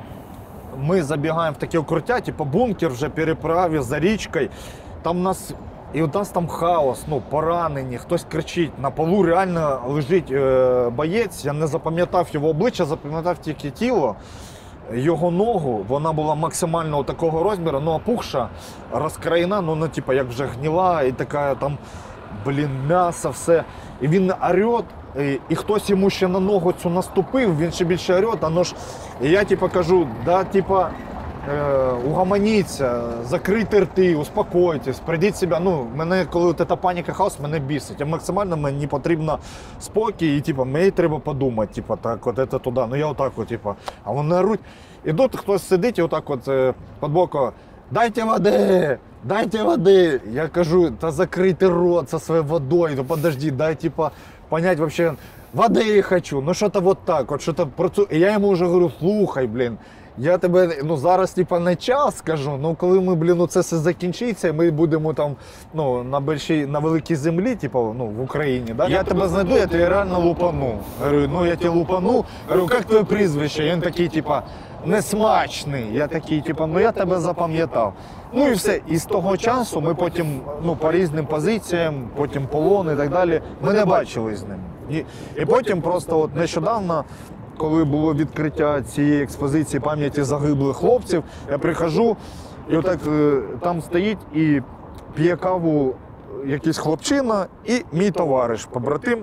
ми забігаємо в таке укриття, типу бункер вже переправі за річкою. Там у нас, і у нас там хаос, ну, поранені, хтось кричить. На полу реально лежить е, боєць, я не запам'ятав його обличчя, запам'ятав тільки тіло. Його ногу, вона була максимально такого розміру, ну, опухша, розкраєна, ну, ну, типу, як вже гніла, і така там, блін, м'ясо, все. І він орет, і, і хтось йому ще на ногу цю наступив, він ще більше орет, а ну ж, і я, типу, кажу, да, типу, е, угомоніться, закрийте рти, успокойтесь, прийдіть себе, ну, мене, коли от ця паніка, хаос, мене бісить, а максимально мені потрібно спокій, і, типу, мені треба подумати, типу, так, от це туди, ну, я отак, от, типу, а вони оруть, і тут хтось сидить і отак от е, під боку, дайте води, дайте води. Я кажу, та закрийте рот со своєю водою, ну подожди, дай типа понять вообще, води хочу, ну що-то вот так, от що-то про цю. І я йому вже говорю, слухай, блін, я тебе, ну зараз типа не час скажу, ну коли ми, блін, ну це все закінчиться, ми будемо там, ну, на більшій, на великій землі, типу, ну, в Україні, да? Я тебе знайду, я тебе реально лупану. Говорю, ну я тебе лупану, говорю, як твоє прізвище? І він такий, типа, Несмачний. Я такий, типу, ну я тебе запам'ятав. Ну і все. І з того часу ми потім, ну, по різним позиціям, потім полон і так далі, ми не бачили з ним. І, і потім просто от нещодавно, коли було відкриття цієї експозиції пам'яті загиблих хлопців, я приходжу, і отак там стоїть і п'є каву якийсь хлопчина і мій товариш, побратим.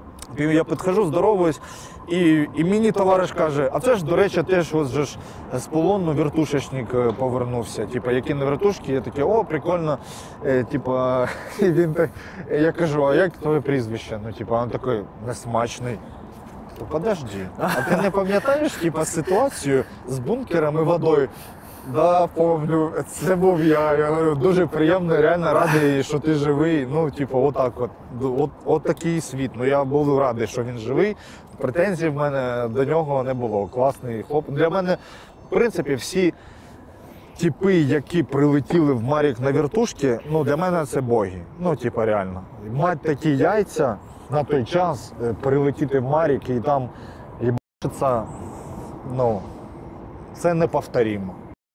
Я підходжу, здоровуюсь, і, і мені товариш каже, а це ж, до речі, теж ось же ж з полону вертушечник повернувся. Типа, які не вертушки, я такий, о, прикольно. Е, типа, він так, я кажу, а як твоє прізвище? Ну, типа, він такий, Несмачний. То подожди, а ти не пам'ятаєш, типа, ситуацію з бункером і водою? Да, помню, це був я. Я говорю, дуже приємно, реально радий, що ти живий. Ну, типу, отак от. От, от такий світ. Ну, я був радий, що він живий. Претензій в мене до нього не було. Класний хлопець. Для мене, в принципі, всі типи, які прилетіли в Марік на вертушки, ну, для мене це боги. Ну, типу, реально. Мать такі яйця на той час прилетіти в Марік і там їбашиться, ну, це неповторимо.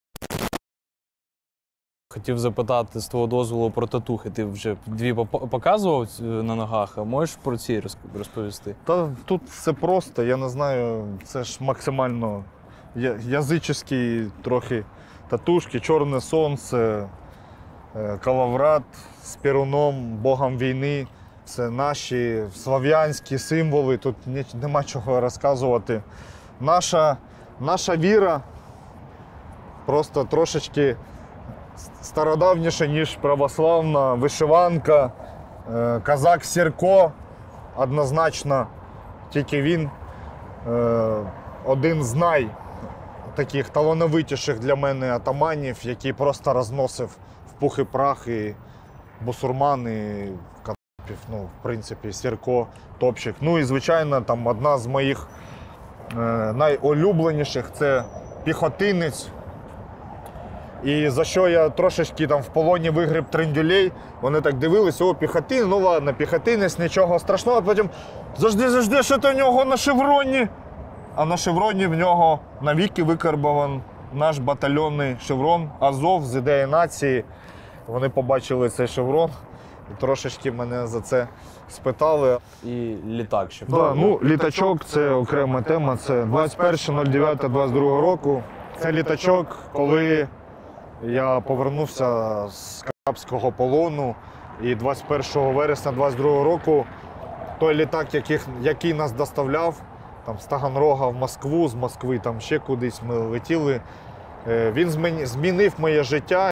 Хотів запитати з твого дозволу про татухи. Ти вже дві показував на ногах, а можеш про ці розповісти? Та тут все просто, я не знаю, це ж максимально язичні трохи татушки, чорне сонце, калаврат з перуном, богом війни. Це наші слав'янські символи, тут нема чого розказувати. Наша, наша віра просто трошечки стародавніше, ніж православна, вишиванка, Е, Казак Сірко, однозначно, тільки він е, один з най таких талановитіших для мене атаманів, який просто розносив в пух і прах і бусурман, і Кадапів, ну, в принципі, Сірко, топчик. Ну і, звичайно, там одна з моїх е, найулюбленіших – це піхотинець. І за що я трошечки там в полоні вигріб трендюлей, вони так дивились, о, піхотин, ну ладно, піхотинець, нічого страшного, а потім завжди, завжди, що то в нього на шевроні. А на шевроні в нього навіки викарбован наш батальйонний шеврон Азов з ідеї нації. Вони побачили цей шеврон і трошечки мене за це спитали. І літак ще. Да, ну, літачок – це окрема тема, це двадцять перше дев'яте двадцять другого року. Це літачок, коли я повернувся з кацапського полону, і двадцять першого вересня двадцять другого року той літак, яких, який нас доставляв там, з Таганрога в Москву, з Москви там ще кудись ми летіли, він змінив моє життя.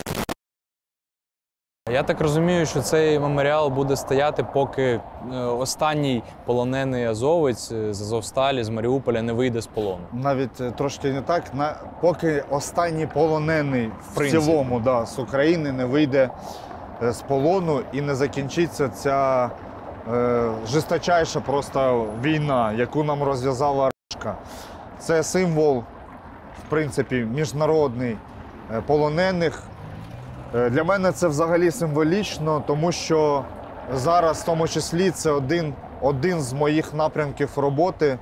Я так розумію, що цей меморіал буде стояти, поки останній полонений азовець з Азовсталі, з Маріуполя не вийде з полону. Навіть трошки не так, на, поки останній полонений в, в цілому да, з України не вийде з полону і не закінчиться ця е, жесточайша просто війна, яку нам розв'язала Рашка. Це символ, в принципі, міжнародний полонених. Для мене це взагалі символічно, тому що зараз, в тому числі, це один, один з моїх напрямків роботи.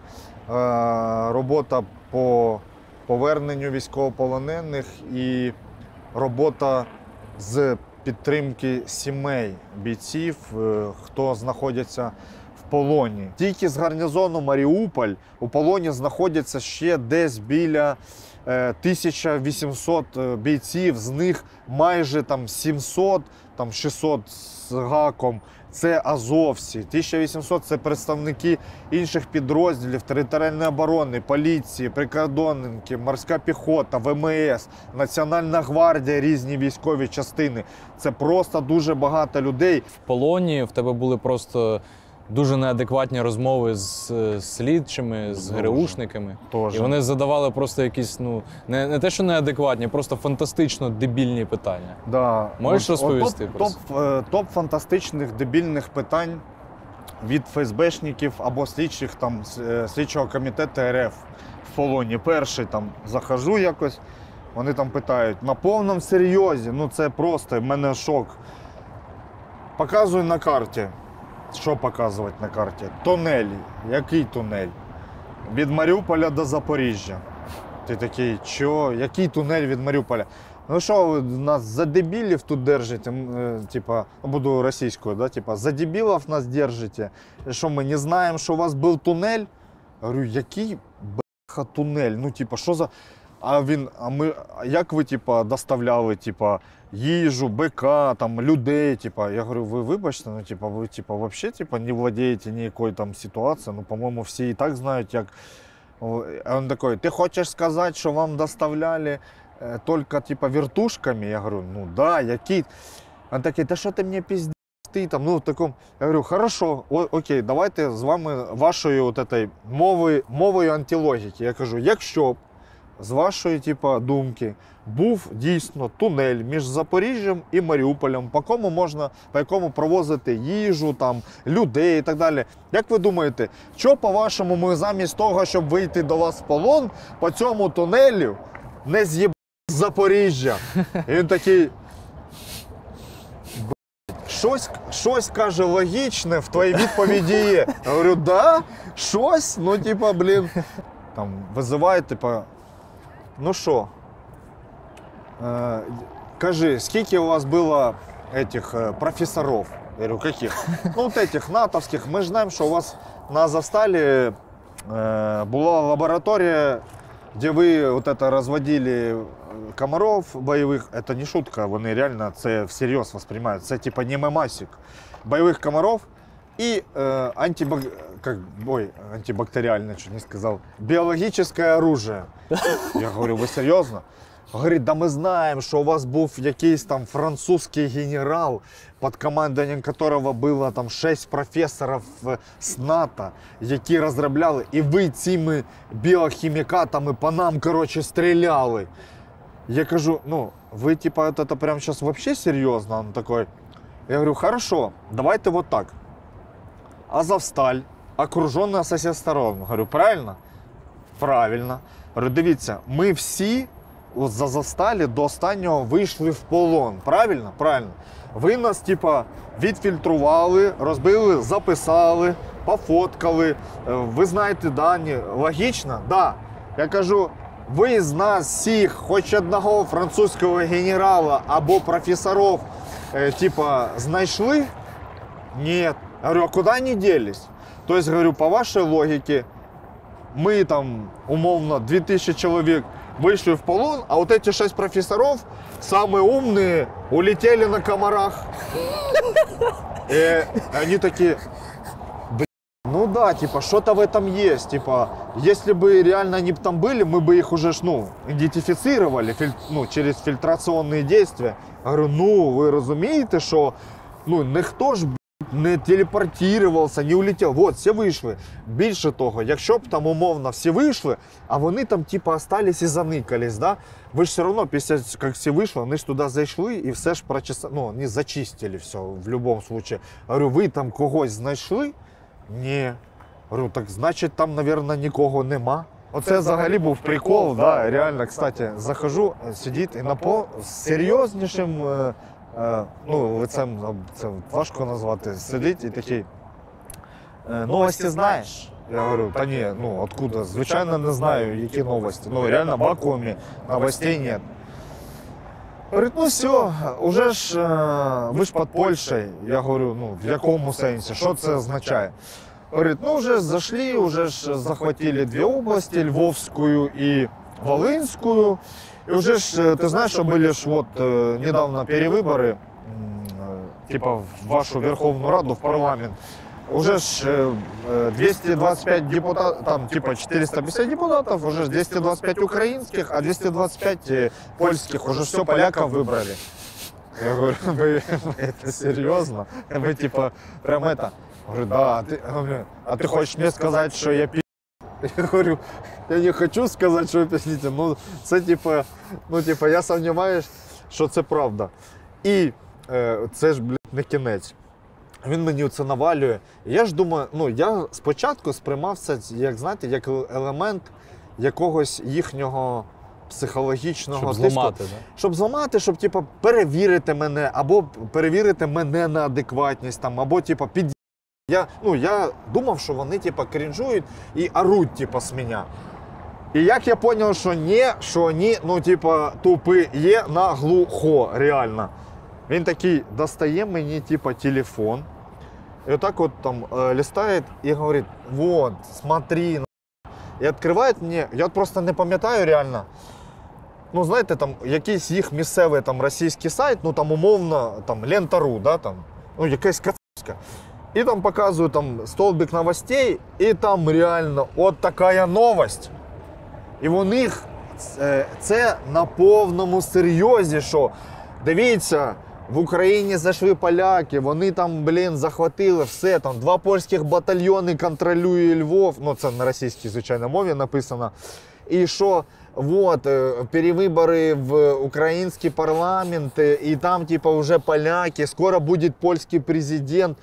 Робота по поверненню військовополонених і робота з підтримки сімей бійців, хто знаходиться в полоні. Тільки з гарнізону Маріуполь у полоні знаходяться ще десь біля тисяча вісімсот бійців, з них майже там сімсот, там шістсот з гаком – це азовці. тисяча вісімсот – це представники інших підрозділів територіальної оборони, поліції, прикордонники, морська піхота, Ве Ем Ес, Національна гвардія, різні військові частини. Це просто дуже багато людей. В полоні в тебе були просто дуже неадекватні розмови з слідчими, з ГРУшниками. Тоже. І вони задавали просто якісь, ну, не, не те, що неадекватні, просто фантастично дебільні питання. Да. Можеш От, розповісти от, про топ, це? топ, топ фантастичних дебільних питань від еф ес бешників або слідчих там, слідчого комітету Ер Еф в полоні. Перший там захожу якось, вони там питають, на повному серйозі, ну це просто, в мене шок. Показую на карті. Що показувати на карті? Тунель. Який тунель? Від Маріуполя до Запоріжжя. Ти такий, що? Який тунель від Маріуполя? Ну що, ви нас за дебілів тут держите? Типа, буду російською, да? Типа, за дебілів нас держите? Що, ми не знаємо, що у вас був тунель? Я говорю, який бляха тунель? Ну, типа, що за... А він, а ми, як ви, типа, доставляли, типа, їжу, бика, там, людей, типа, я говорю, ви вибачте, ну, типа, ви, типа, вообще, типа, не владієте ніякою там ситуацією, ну, по-моєму, всі і так знають, як... А він такий, ти хочеш сказати, що вам доставляли е, тільки, типа, вертушками? Я говорю, ну, да, які... Він такий, та що ти мені пиздиш, ти там, ну, в такому... Я говорю, хорошо, о, окей, давайте з вами вашою от этой мовою, мовою антилогіки. Я кажу, якщо б з вашої, типа, думки, був дійсно тунель між Запоріжжям і Маріуполем, по якому можна, по якому провозити їжу, там, людей і так далі. Як ви думаєте, що, по-вашому, ми замість того, щоб вийти до вас в полон, по цьому тунелю не з'їбали з Запоріжжя? І він такий, щось, щось, каже, логічне в твоїй відповіді є. Я говорю, да, щось, ну, типа, блін, там, визивають, типа, ну що, э, кажи, скільки у вас было этих э, профессоров? Я говорю, каких? Ну, вот этих натовских. Мы же знаем, что у вас на Азовсталі э, была лаборатория, где вы вот это разводили комаров боевых. Это не шутка, вони реально це всерйоз воспринимают. Це типа не мемасик. Боевых комаров и э, антибак... как... Ой, антибактериальное, что не сказал. Биологическое оружие. Я говорю, вы серьезно? Говорить, да ми знаємо, що у вас був якийсь там французький генерал, під командуванням якого було там шість професорів з НАТО, які розробляли, і ви цими біохімікатами по нам, коротше, стріляли. Я кажу, ну, ви, типа, это, это прям сейчас вообще серьезно? Он такой, я говорю, хорошо, давайте вот так. Азовсталь, окруженная со всех сторон. Говорю, правильно? Правильно. Говорю, дивіться, ми всі з Азовсталі до останнього вийшли в полон. Правильно? Правильно. Ви нас, типа, відфільтрували, розбили, записали, пофоткали. Ви знаєте дані. Логічно? Да. Я кажу, ви з нас всіх, хоч одного французького генерала або професорів, э, типа, знайшли? Ні. Говорю, а куди вони делись? Тобто, говорю, по вашій логіці, ми там, умовно, дві тисячі чоловік вийшли в полон, а вот эти шесть профессоров, самые умные, улетели на комарах. И они такие, блин, ну да, типа, что-то в этом есть. Типа, если бы реально они там были, мы бы их уже, ну, идентифицировали, филь, ну, через фильтрационные действия. Я говорю, ну, вы разумеете, что, ну, ніхто ж, не телепортувався, не улетів. Вот, всі вийшли. Більше того, якщо б там умовно всі вийшли, а вони там типу остались і заникались, да? Ви ж все одно, після як всі вийшли, вони ж туди зайшли і все ж прочесали, ну, вони зачистили все в будь-якому випадку. Говорю, ви там когось знайшли? Ні. Говорю, так значить там, мабуть, нікого нема. Оце взагалі був прикол, да, реально, кстати, захожу, сидить і на по серйознішим ну, лицем, це важко назвати, сидить і такий, новості знаєш? Я говорю, та ні, ну, откуда? Звичайно, не знаю, які новості. Ну, реально, в вакуумі новостей нет. Говорить, ну все, уже ж, ви ж під Польщею. Я говорю, ну, в якому сенсі, що це означає? Говорить, ну, вже зайшли, вже ж захватили дві області, Львовську і Волинську. И уже ж, ты знаешь, что были ж вот э, недавно перевыборы, э, типа в вашу Верховную Раду, в парламент. Уже ж э, двести двадцать пять депутатов, там типа четыреста пятьдесят депутатов, уже двести двадцать пять украинских, а двести двадцать пять э, польских, уже все поляков выбрали. Я говорю, вы, это серьезно? Вы типа прям это? Говорю, да, а ты, а ты хочешь мне сказать, что я пи***? Я говорю, я не хочу сказати, що ви пісніте, ну це типа, ну типа, я сумніваюсь, що це правда. І е, це ж, блядь, не кінець. Він мені це навалює. Я ж думаю, ну я спочатку сприймав це, як знаєте, як елемент якогось їхнього психологічного щоб тиску. зламати, да? Щоб зламати, щоб типа перевірити мене, або перевірити мене на адекватність, там, або типа під. Я, ну, я думав, що вони типа крінжують і оруть типа з мене. І як я зрозумів, що ні, що вони, ну, типа, тупі є наглухо, реально. Він такий достає мені типа телефон, і отак от там э, листає і говорить, вот, смотри, і відкриває мені, я от просто не пам'ятаю реально, ну, знаєте, там якийсь їх місцевий там російський сайт, ну, там умовно, там, Лента.ру, да, там, ну, якась кацка. И там показывают там столбик новостей, и там реально от такая новость. І у них це на повному серйозі, що дивіться, в Україні зайшли поляки, вони там, блін, захватили все, там два польських батальйони контролює Львов, ну це на російській, звичайно, мові написано. І що, вот, перевибори в український парламент, і там, типа, вже поляки, скоро буде польський президент.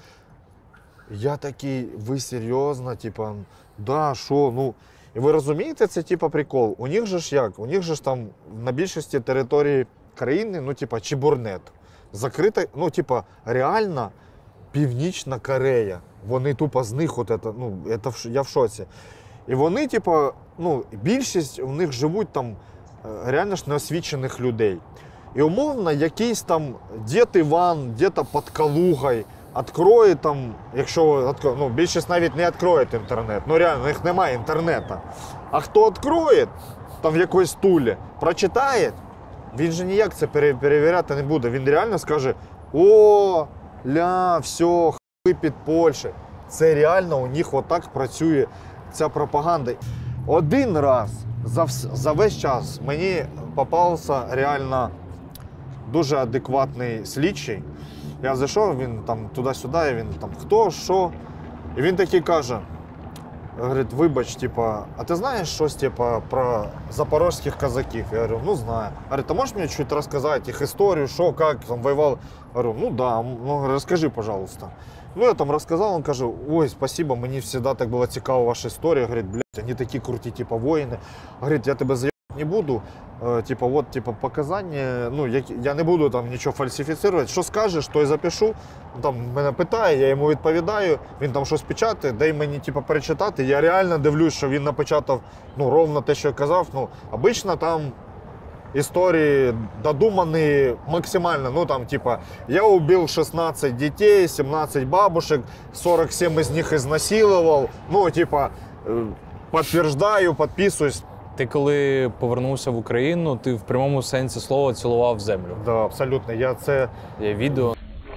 Я такий, ви серйозно, типа, да, що, ну, і ви розумієте, це типа прикол. У них же ж як? У них же ж там на більшості території країни, ну, типа, чебурнет. Закрита, ну, типа, реально Північна Корея. Вони тупо з них, от это, ну, это, я в шоці. І вони, типа, ну, більшість у них живуть там реально ж неосвічених людей. І умовно, якийсь там дід Іван, де-то під Калугою, відкроє там, якщо, ну, більшість навіть не відкроє інтернет, ну реально, у них немає інтернету. А хто відкроє, там в якоїсь тулі, прочитає, він же ніяк це перевіряти не буде. Він реально скаже, о, ля, все, хуй під Польщею. Це реально у них отак працює ця пропаганда. Один раз за, за весь час мені попався реально дуже адекватний слідчий. Я зайшов, він там туди-сюди, і він там хто, що. І він такий каже, говорить, вибач, типа, а ти знаєш щось типа, про запорозьких казаків? Я говорю, ну знаю. Говорить, а можеш мені чуть розказати їх історію, що, як, там воював? Говорю, ну да, ну розкажи, пожалуйста. Ну я там розказав, він каже, ой, спасибо, мені завжди так була цікава ваша історія. Говорить, блядь, вони такі круті, типа, воїни. Говорить, я тебе заїбати не буду. Типа, от, типа, показання, ну, я, я не буду там нічого фальсифіцирувати. Що скажеш, то й запишу. Там мене питає, я йому відповідаю, він там щось печатає, дай мені, типа, перечитати. Я реально дивлюсь, що він напечатав, ну, ровно те, що я казав. Ну, обично там історії додумані максимально. Ну, там, типа, я убив шістнадцять дітей, сімнадцять бабушек, сорок сім із них ізнасилував. Ну, типа, підтверджую, підписуюсь. Ти коли повернувся в Україну, ти в прямому сенсі слова цілував землю. Так, да, абсолютно. Я це... Є відео.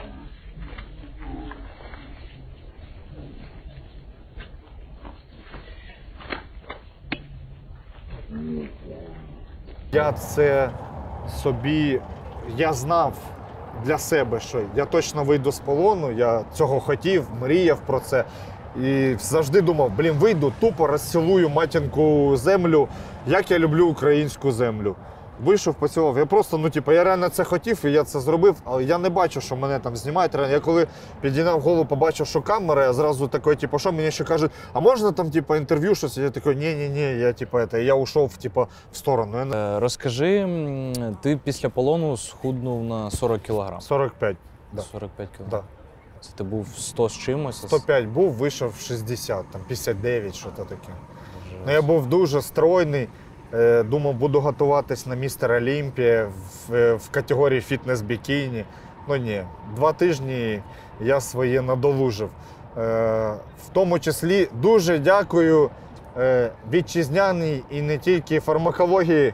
Я це собі... Я знав для себе, що я точно вийду з полону, я цього хотів, мріяв про це. І завжди думав, блін, вийду, тупо розцілую матінку землю, як я люблю українську землю. Вийшов, поцілував. Я просто, ну, типу, я реально це хотів, і я це зробив, але я не бачу, що мене там знімають. Я коли підійняв голову, побачив, що камера, я зразу такий, типу, що мені ще кажуть, а можна там, типу, інтерв'ю, щось? Я такий, ні-ні-ні, я, типу, это, я ушов, типу, в сторону. Е, Розкажи, ти після полону схуднув на сорок кілограм. сорок п'ять. Да. сорок п'ять кілограм. Да. Це ти був сто з чимось? сто п'ять був, вийшов в шістдесят, там п'ятдесят дев'ять, що то таке. Ну, я був дуже стройний, думав, буду готуватись на містер Олімпія в, в категорії фітнес-бікіні. Ну ні, два тижні я своє надолужив. В тому числі дуже дякую вітчизняній і не тільки фармакології.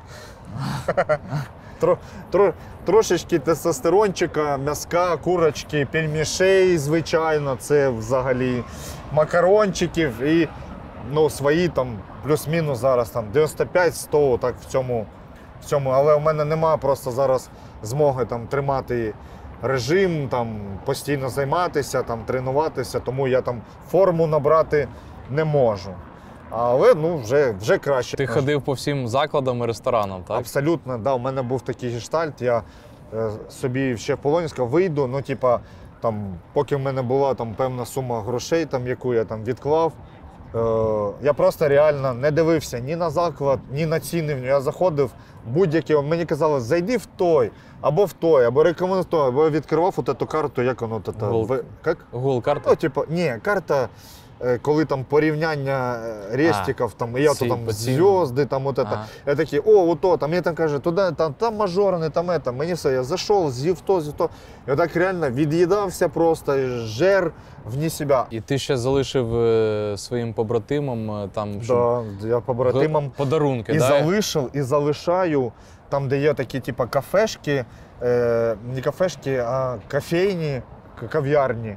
Тро, тро, трошечки тестостерончика, м'язка, курочки, пельмішей, звичайно, це взагалі макарончиків і ну, свої там плюс-мінус зараз там дев'яносто п'ять сто так в цьому, в цьому. Але у мене немає просто зараз змоги там тримати режим, там постійно займатися, там тренуватися, тому я там форму набрати не можу. Але ну, вже, вже краще. Ти ходив по всім закладам і ресторанам, так? Абсолютно, да. У мене був такий гештальт, я е, собі ще в полоні сказав, вийду, ну, типа, там, поки в мене була там певна сума грошей, там, яку я там відклав, е, я просто реально не дивився ні на заклад, ні на ціни. Я заходив будь-які, мені казали, зайди в той, або в той, або рекомендую той, або я відкривав от эту карту, як воно, та, Google, як? Google карта? Ну, типу, ні, карта, коли там порівняння рестиків, там, я то там зв'язки, там от это. Я такий, о, ото, там, мені там каже, туди, там, там мажорний, там это. Мені все, я зайшов, з'їв то, з'їв то. Я так реально від'їдався просто, жер вні себе. І ти ще залишив е, своїм побратимам там, щоб... Да, я побратимам подарунки, і да? залишив, і залишаю, там, де є такі, типу, кафешки, е, не кафешки, а кофейні, кав'ярні.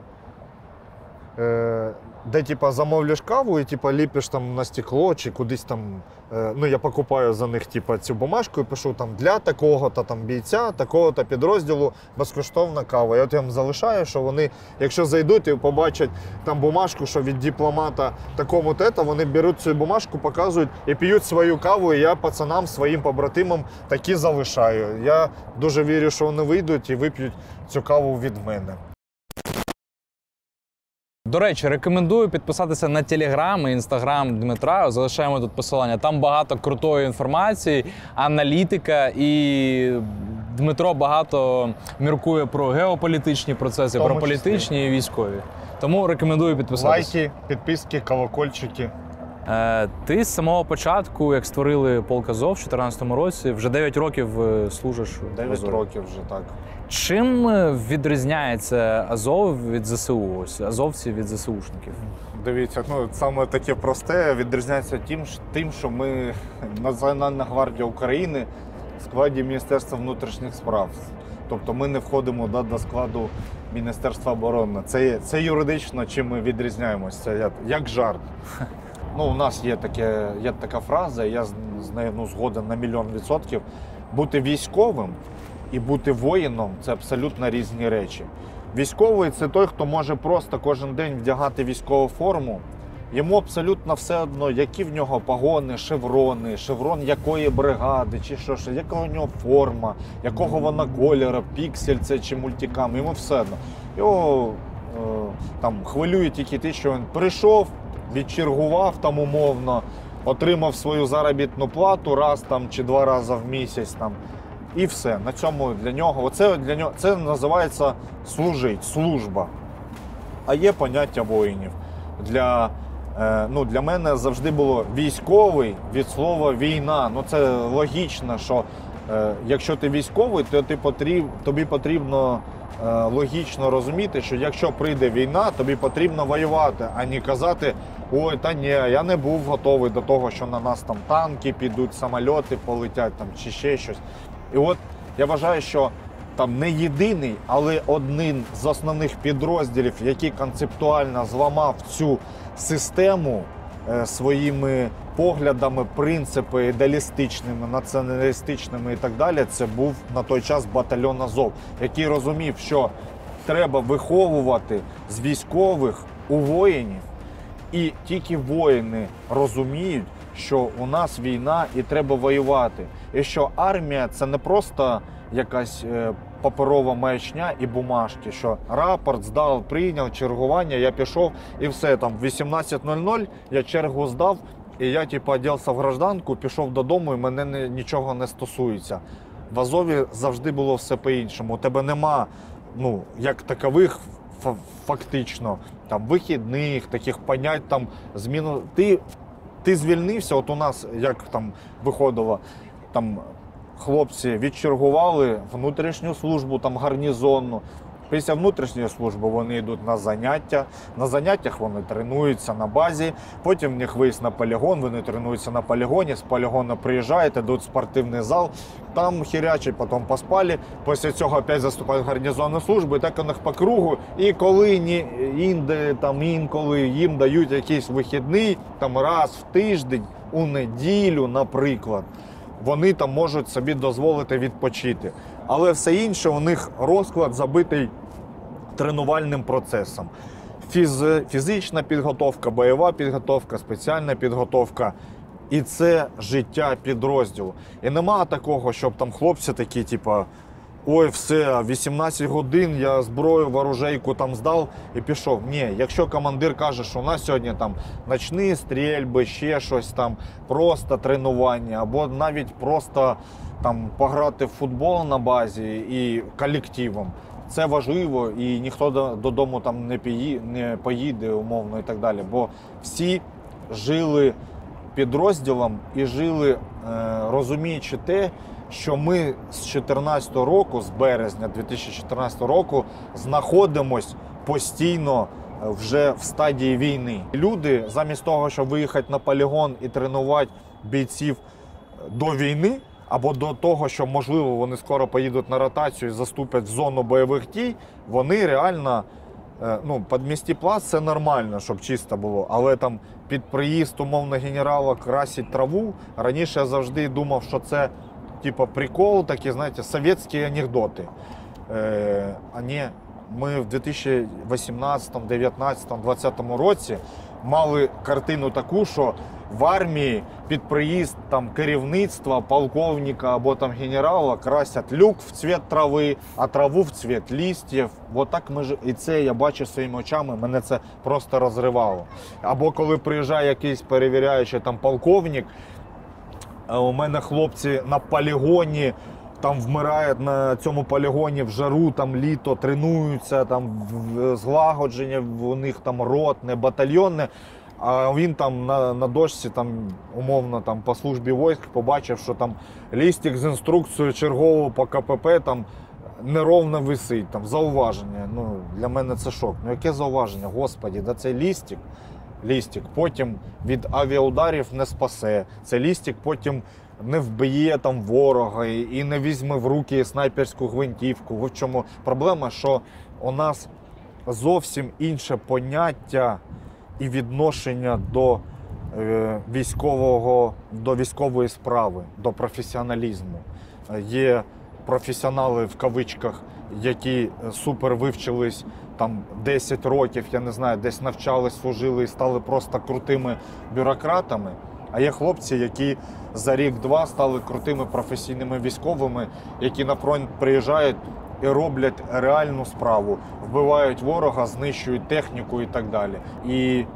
Е, де типа замовляєш каву і типа ліпиш там на стекло чи кудись там. Е, ну я покупаю за них типа цю бумажку і пишу там для такого-то там бійця, такого-то підрозділу безкоштовна кава. Я от їм залишаю, що вони, якщо зайдуть і побачать там бумажку, що від дипломата такому-то, вони беруть цю бумажку, показують і п'ють свою каву. І я пацанам, своїм побратимам такі залишаю. Я дуже вірю, що вони вийдуть і вип'ють цю каву від мене. До речі, рекомендую підписатися на Телеграм і Інстаграм Дмитра. Залишаємо тут посилання. Там багато крутої інформації, аналітика, і Дмитро багато міркує про геополітичні процеси, про політичні і військові. Тому рекомендую підписатися. Лайки, підписки, колокольчики. Е, ти з самого початку, як створили полк Азов в дві тисячі чотирнадцятому році, вже дев'ять років служиш в Азові. дев'ять років вже, так. Чим відрізняється Азов від зе се у, ось азовці від зе се у-шників? Дивіться, ну саме таке просте відрізняється тим, тим, що ми Національна гвардія України в складі Міністерства внутрішніх справ. Тобто ми не входимо да, до складу Міністерства оборони. Це, це юридично, чим ми відрізняємося, це як, як жарт. Ну, у нас є, таке, є така фраза, я з нею ну, згоден на мільйон відсотків. бути військовим і бути воїном – це абсолютно різні речі. Військовий – це той, хто може просто кожен день вдягати військову форму. Йому абсолютно все одно, які в нього погони, шеврони, шеврон якої бригади, чи що, що яка у нього форма, якого вона кольору, піксель це чи мультикам, йому все одно. Його е, там хвилює тільки те, що він прийшов, відчергував там умовно, отримав свою заробітну плату раз там чи два рази в місяць там. І все. На цьому для нього, оце для нього, це називається служить, служба. А є поняття воїнів. Для, е, ну, для мене завжди було військовий від слова війна. Ну це логічно, що е, якщо ти військовий, то ти потріб, тобі потрібно е, логічно розуміти, що якщо прийде війна, тобі потрібно воювати, а не казати, ой, та ні, я не був готовий до того, що на нас там танки підуть, самольоти полетять там, чи ще щось. І от я вважаю, що там не єдиний, але один з основних підрозділів, який концептуально зламав цю систему е, своїми поглядами, принципи ідеалістичними, націоналістичними і так далі, це був на той час батальйон Азов, який розумів, що треба виховувати з військових у воїнів, і тільки воїни розуміють, що у нас війна і треба воювати. І що армія – це не просто якась е, паперова маячня і бумажки, що рапорт здав, прийняв, чергування, я пішов і все, там в вісімнадцять нуль нуль я чергу здав, і я типу одягся в гражданку, пішов додому і мене не, нічого не стосується. В Азові завжди було все по-іншому. У тебе нема, ну, як такових фактично, там, вихідних, таких понять, там, зміну. Ти Ти звільнився, от у нас, як там виходило, там хлопці відчергували внутрішню службу, там гарнізонну. Після внутрішньої служби вони йдуть на заняття, на заняттях вони тренуються на базі, потім в них виїзд на полігон, вони тренуються на полігоні, з полігону приїжджають, йдуть в спортивний зал, там хірячать, потім поспали, після цього опять заступають в гарнізонну службу, і так у них по кругу, і коли ні, інде, там, інколи їм дають якийсь вихідний, там раз в тиждень, у неділю, наприклад, вони там можуть собі дозволити відпочити. Але все інше у них розклад забитий тренувальним процесом. Фіз, фізична підготовка, бойова підготовка, спеціальна підготовка. І це життя підрозділу. І нема такого, щоб там хлопці такі, типу, ой, все, вісімнадцять годин я зброю, ворожейку там здав і пішов. Ні, якщо командир каже, що у нас сьогодні там ночні стрільби, ще щось там, просто тренування, або навіть просто там пограти в футбол на базі і колективом, це важливо, і ніхто додому там не не поїде, умовно, і так далі. Бо всі жили підрозділом і жили, розуміючи те, що ми з чотирнадцятого року, з березня дві тисячі чотирнадцятого року, знаходимось постійно вже в стадії війни. Люди, замість того, щоб виїхати на полігон і тренувати бійців до війни, або до того, що, можливо, вони скоро поїдуть на ротацію і заступлять в зону бойових дій, вони реально, ну, під місті плац це нормально, щоб чисто було, але там під приїзд, умовно, генерала красить траву, раніше я завжди думав, що це типа прикол, такі, знаєте, совєтські анекдоти. Е, а не, ми в дві тисячі вісімнадцятому, дев'ятнадцятому, двадцятому році мали картину таку, що в армії під приїзд там керівництва, полковника або там генерала красять люк в цвіт трави, а траву в цвіт листів. От так ми ж... І це я бачу своїми очами, мене це просто розривало. Або коли приїжджає якийсь перевіряючий там полковник, у мене хлопці на полігоні, там вмирають на цьому полігоні в жару, там літо, тренуються, там злагодження, у них там ротне, батальйонне, а він там на, на дошці, там, умовно, там, по службі військ побачив, що там лістик з інструкцією чергового по ка пе пе там неровно висить, там, зауваження. Ну, для мене це шок. Ну, яке зауваження? Господі, да цей лістик, лістик потім від авіаударів не спасе. Цей лістик потім не вб'є там ворога і не візьме в руки снайперську гвинтівку. В чому проблема, що у нас зовсім інше поняття і відношення до е, військового, до військової справи, до професіоналізму. є професіонали в кавичках, які супер вивчились там десять років, я не знаю, десь навчались, служили і стали просто крутими бюрократами. А є хлопці, які за рік-два стали крутими професійними військовими, які на фронт приїжджають і роблять реальну справу, вбивають ворога, знищують техніку і так далі. І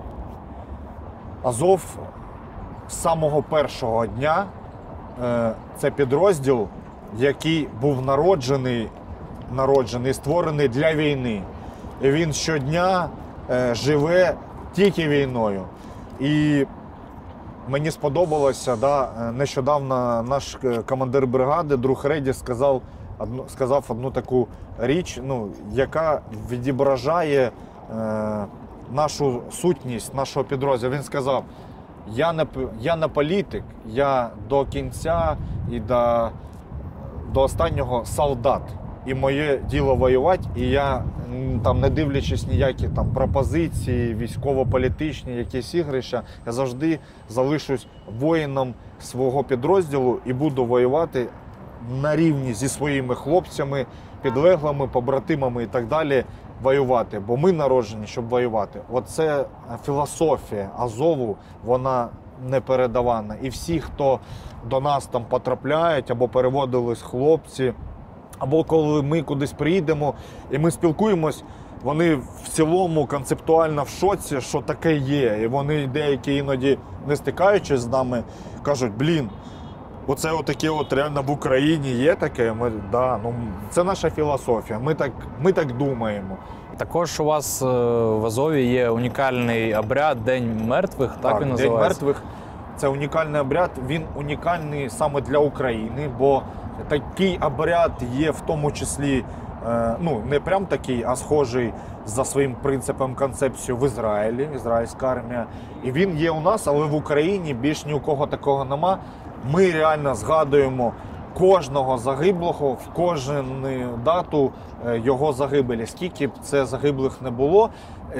Азов з самого першого дня е, це підрозділ, який був народжений, народжений, створений для війни. І він щодня е, живе тільки війною. І мені сподобалося, да, нещодавно наш командир бригади, друг Реді, сказав, одну, сказав одну таку річ, ну, яка відображає е, нашу сутність, нашого підрозділу. Він сказав, я не, я не політик, я до кінця і до, до останнього солдат. І моє діло воювати, і я, там, не дивлячись ніякі там пропозиції, військово-політичні, якісь ігрища, я завжди залишусь воїном свого підрозділу і буду воювати на рівні зі своїми хлопцями, підлеглими, побратимами і так далі, воювати. Бо ми народжені, щоб воювати. Оце філософія Азову, вона непередавана. І всі, хто до нас там потрапляють або переводились хлопці, або коли ми кудись приїдемо і ми спілкуємось, вони в цілому концептуально в шоці, що таке є. І вони деякі іноді, не стикаючись з нами, кажуть, блін, оце отаке от реально в Україні є таке. Ми, да, ну, це наша філософія, ми так, ми так думаємо. Також у вас в Азові є унікальний обряд День мертвих, так, так він називається? День мертвих – це унікальний обряд, він унікальний саме для України, бо такий обряд є в тому числі, ну, не прям такий, а схожий за своїм принципом, концепцією в Ізраїлі, ізраїльська армія. І він є у нас, але в Україні більш ні у кого такого нема. Ми реально згадуємо кожного загиблого в кожну дату його загибелі. Скільки б це загиблих не було,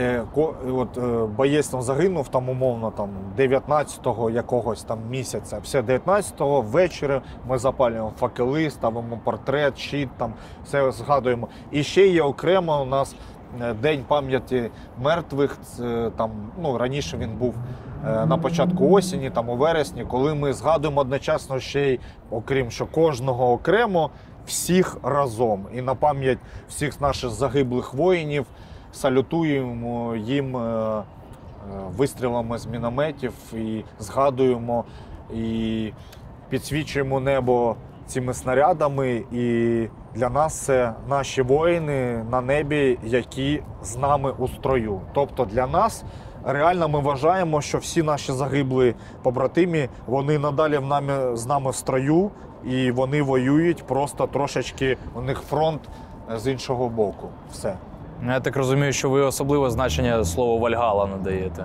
от боєць там загинув там умовно там дев'ятнадцятого якогось там місяця. Все дев'ятнадцятого ввечері ми запалюємо факели, ставимо портрет, щит, там все згадуємо. І ще є окремо у нас День пам'яті мертвих. Там, ну, раніше він був на початку осені, там у вересні, коли ми згадуємо одночасно ще й, окрім що кожного окремо, всіх разом. І на пам'ять всіх наших загиблих воїнів салютуємо їм вистрілами з мінометів і згадуємо, і підсвічуємо небо цими снарядами. І для нас це наші воїни на небі, які з нами у строю. Тобто для нас реально ми вважаємо, що всі наші загиблі побратимі, вони надалі в нами, з нами в строю, і вони воюють, просто трошечки у них фронт з іншого боку. Все. Я так розумію, що ви особливе значення слову Вальгала надаєте.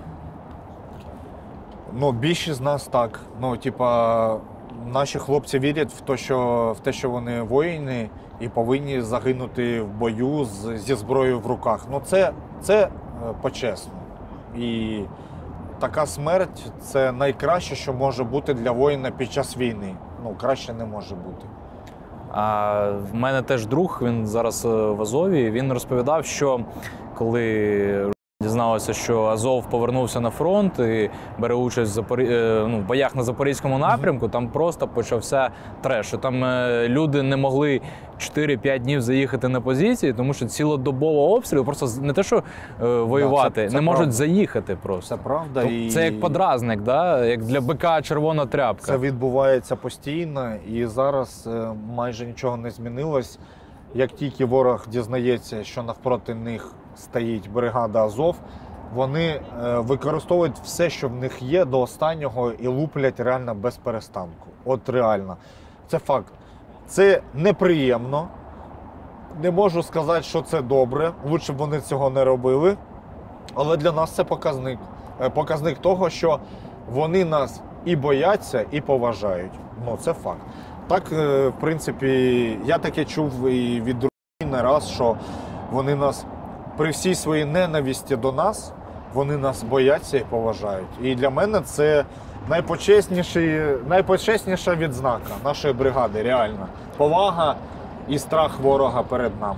Ну, більшість з нас так. Ну, типа, наші хлопці вірять в те, що, в те, що вони воїни і повинні загинути в бою з, зі зброєю в руках. Ну, це, це по-чесному. І така смерть – це найкраще, що може бути для воїна під час війни. Ну, краще не може бути. А в мене теж друг, він зараз в Азові, він розповідав, що коли дізналося, що Азов повернувся на фронт і бере участь в, Запорі... ну, в боях на Запорізькому напрямку, там просто почався треш. Там люди не могли чотири-п'ять днів заїхати на позиції, тому що цілодобово обстріл, просто не те, що е, воювати, да, це, це не правда. Можуть заїхати просто. Це правда. Тобто, і... Це як подразник, да? Як для бика червона тряпка. Це відбувається постійно, і зараз е, майже нічого не змінилось. Як тільки ворог дізнається, що навпроти них стоїть бригада Азов, вони е, використовують все, що в них є, до останнього і луплять реально без перестанку. От реально. Це факт. Це неприємно. Не можу сказати, що це добре. Лучше б вони цього не робили. Але для нас це показник. Показник того, що вони нас і бояться, і поважають. Ну, це факт. Так, в принципі, я таке чув і від друзів не раз, що вони нас при всій своїй ненависті до нас, вони нас бояться і поважають. І для мене це найпочесніший, найпочесніша відзнака нашої бригади, реально. Повага і страх ворога перед нами.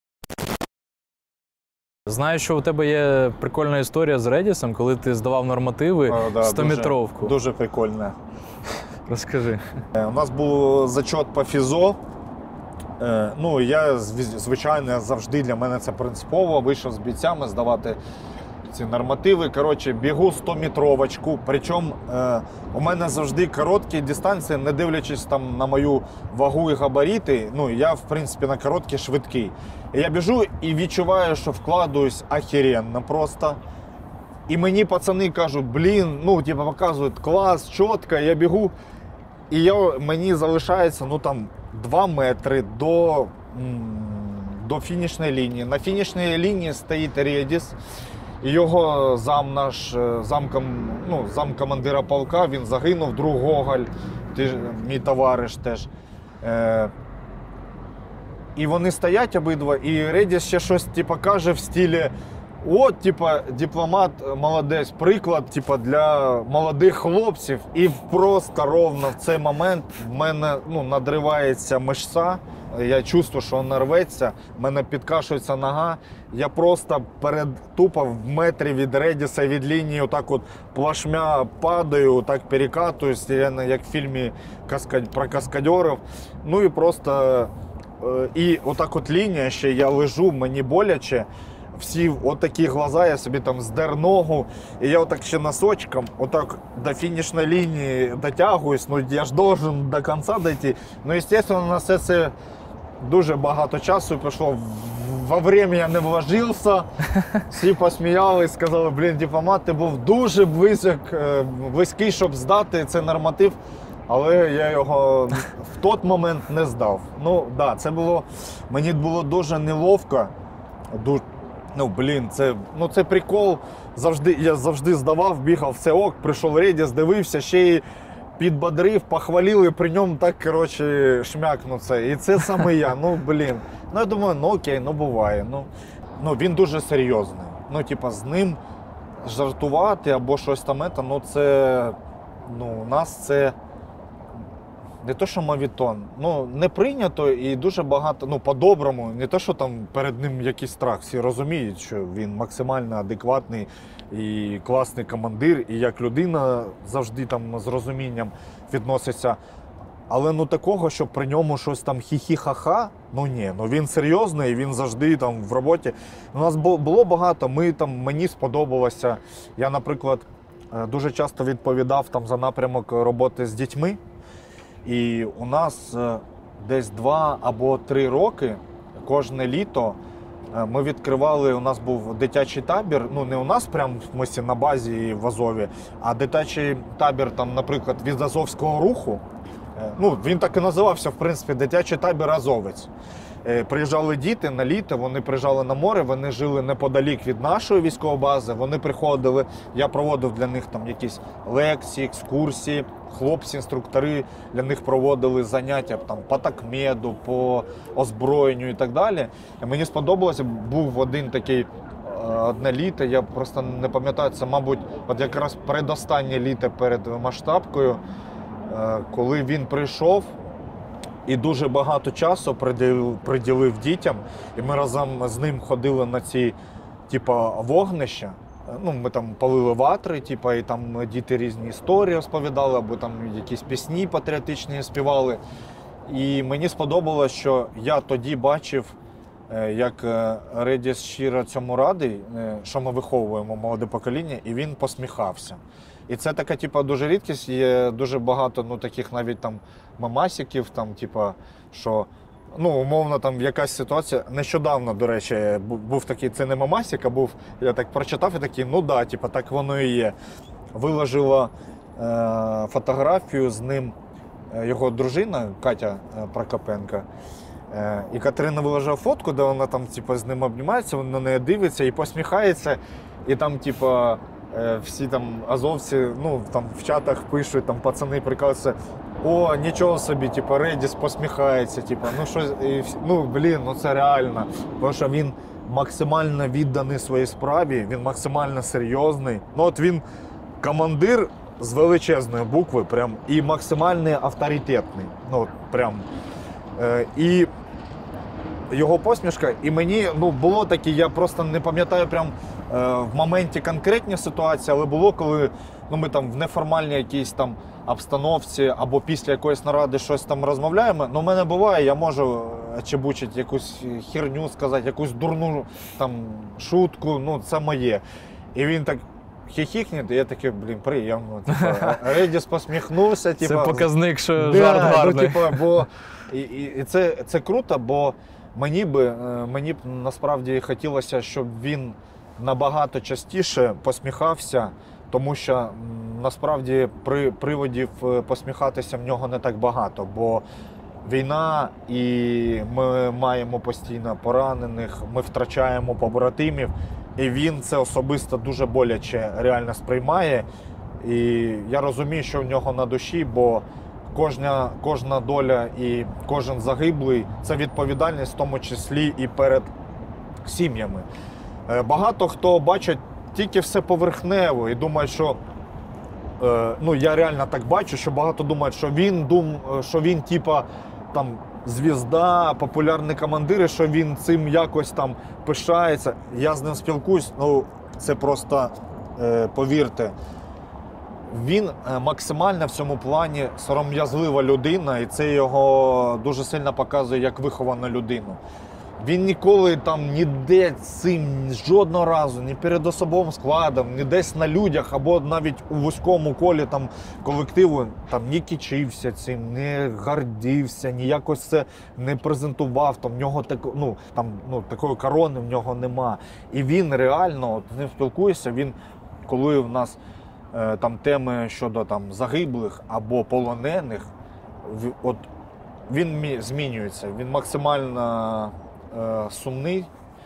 Знаю, що у тебе є прикольна історія з Редісом, коли ти здавав нормативи да, стометровку. Дуже, дуже прикольна. Розкажи. У нас був зачет по фізо. Ну, я, звичайно, завжди, для мене це принципово, вийшов з бійцями здавати ці нормативи. Коротше, бігу стометровочку. Причому е, у мене завжди короткі дистанції, не дивлячись там на мою вагу і габарити. Ну, я, в принципі, на короткі швидкий. І я біжу і відчуваю, що вкладуюсь охеренно просто. І мені пацани кажуть, блін, ну, типу, показують, клас, чітко, я бігу. І я, мені залишається, ну, там, два метри до, до фінішної лінії. На фінішній лінії стоїть Редіс. І його зам наш, замком, ну, замкомандира полка, він загинув, друг Гоголь, ти, мій товариш теж. Е, і вони стоять обидва, і Редіс ще щось типу, каже в стилі: от, типа, дипломат молодець, приклад, типа, для молодих хлопців. І просто ровно в цей момент в мене, ну, надривається мишця, я чувствую, що вона рветься, в мене підкашується нога. Я просто перед, тупо в метрі від Редіса, від лінії, отак от плашмя падаю, так перекатуюсь, як в фільмі каскад... про каскадерів. Ну і просто, і отак от лінія ще, я лежу, мені боляче. Всі отакі глаза, я собі там здер ногу, і я отак ще носочком, отак до фінішної лінії дотягуюсь, ну я ж должен до кінця дійти. Ну, звісно, на все це дуже багато часу пішло, во время я не вложився, всі посміялись, сказали, блін, дипломат, ти був дуже близьок, близький, щоб здати цей норматив, але я його в той момент не здав. Ну, так, да, це було, мені було дуже неловко, дуже. Ну, блін, це, ну, це прикол. Завжди, я завжди здавав, бігав, все ок, прийшов Редіс, дивився, ще й підбодрив, похвалили, при ньому так, коротше, шмякнув це. І це саме я, ну, блін. Ну, я думаю, ну, окей, ну, буває. Ну, ну він дуже серйозний. Ну, типа, з ним жартувати або щось там, ну, це, ну, у нас це не то, що мавітон, ну, не прийнято і дуже багато, ну, по-доброму, не то, що там перед ним якийсь страх, всі розуміють, що він максимально адекватний і класний командир, і як людина завжди там з розумінням відноситься. Але, ну, такого, що при ньому щось там хі-хі-ха-ха, ну, ні, ну, він серйозний, він завжди там в роботі. У нас було багато, ми там, мені сподобалося, я, наприклад, дуже часто відповідав там за напрямок роботи з дітьми. І у нас десь два або три роки, кожне літо, ми відкривали, у нас був дитячий табір, ну не у нас прямо в смислі на базі в Азові, а дитячий табір, там, наприклад, від Азовського руху. Ну, він так і називався, в принципі, дитячий табір Азовець. Приїжджали діти на літо, вони приїжджали на море, вони жили неподалік від нашої військової бази, вони приходили, я проводив для них там якісь лекції, екскурсії, хлопці-інструктори для них проводили заняття там, по такмеду, по озброєнню і так далі. І мені сподобалося, був один такий, одне літо, я просто не пам'ятаю, це, мабуть, от якраз передостаннє літо перед масштабкою, коли він прийшов, і дуже багато часу приділив, приділив дітям. І ми разом з ним ходили на ці типа, вогнища. Ну, ми там палили ватри, типа, і там діти різні історії розповідали, або там якісь пісні патріотичні співали. І мені сподобалось, що я тоді бачив, як Редіс щиро цьому радий, що ми виховуємо молоде покоління, і він посміхався. І це така, типа, дуже рідкість, є дуже багато, ну, таких навіть там мемасиків, там, типа, що, ну, умовно, там якась ситуація. Нещодавно, до речі, був такий, це не мемасик, а був, я так прочитав і такий, ну, да, типа, так воно і є. Виложила е, фотографію з ним його дружина, Катя Прокопенко. Е, і Катерина виложила фотку, де вона там, типа, з ним обнімається, вона на неї дивиться і посміхається, і там, типа, всі там азовці, ну, там в чатах пишуть, там пацани прикалуються, о, нічого собі, типу, Редіс посміхається, типу, ну, що, і, ну, блін, ну, це реально, тому що він максимально відданий своїй справі, він максимально серйозний, ну, от він командир з величезної букви, прям, і максимально авторитетний. Ну, прям. Е, і його посмішка, і мені ну, було таке, я просто не пам'ятаю прям е, в моменті конкретні ситуації, але було, коли ну, ми там в неформальній якійсь там обстановці або після якоїсь наради щось там розмовляємо. Ну, в мене буває, я можу чебучити якусь херню сказати, якусь дурну там шутку, ну це моє. І він так хіхікне, і я такий, блін, приємно. Типу, Редіс посміхнувся. Типу, це показник, що да, жарт гарний. Ну, типу, бо, і, і, і це, це круто, бо мені б, мені б насправді хотілося, щоб він набагато частіше посміхався, тому що насправді при, приводів посміхатися в нього не так багато, бо війна, і ми маємо постійно поранених, ми втрачаємо побратимів, і він це особисто дуже боляче реально сприймає. І я розумію, що в нього на душі, бо кожна, кожна доля і кожен загиблий – це відповідальність, в тому числі і перед сім'ями. Багато хто бачить тільки все поверхнево і думає, що ну я реально так бачу, що багато думають, що він дум, що він типа там звізда, популярний командир, і що він цим якось там пишається. Я з ним спілкуюсь, ну це просто е, повірте. Він максимально в цьому плані сором'язлива людина, і це його дуже сильно показує як виховану людину. Він ніколи там ніде цим жодного разу, ні перед особовим складом, ні десь на людях, або навіть у вузькому колі там колективу там не кичився цим, не гордився, ні якось це не презентував. Там в нього так, ну, там, ну, такої корони в нього нема. І він реально, от, з ним спілкуєшся, він, коли в нас е, там теми щодо там загиблих або полонених, в, от він змінюється, він максимально сумний,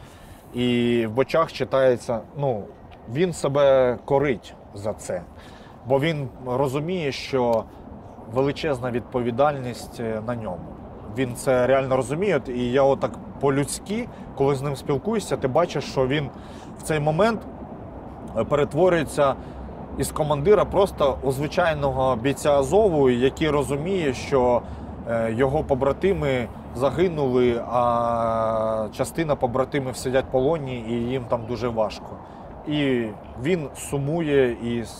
і в очах читається, ну, він себе корить за це, бо він розуміє, що величезна відповідальність на ньому. Він це реально розуміє, і я отак по-людськи, коли з ним спілкуюся, ти бачиш, що він в цей момент перетворюється із командира просто у звичайного бійця Азову, який розуміє, що його побратими загинули, а частина побратимів сидять в полоні, і їм там дуже важко. І він сумує і, і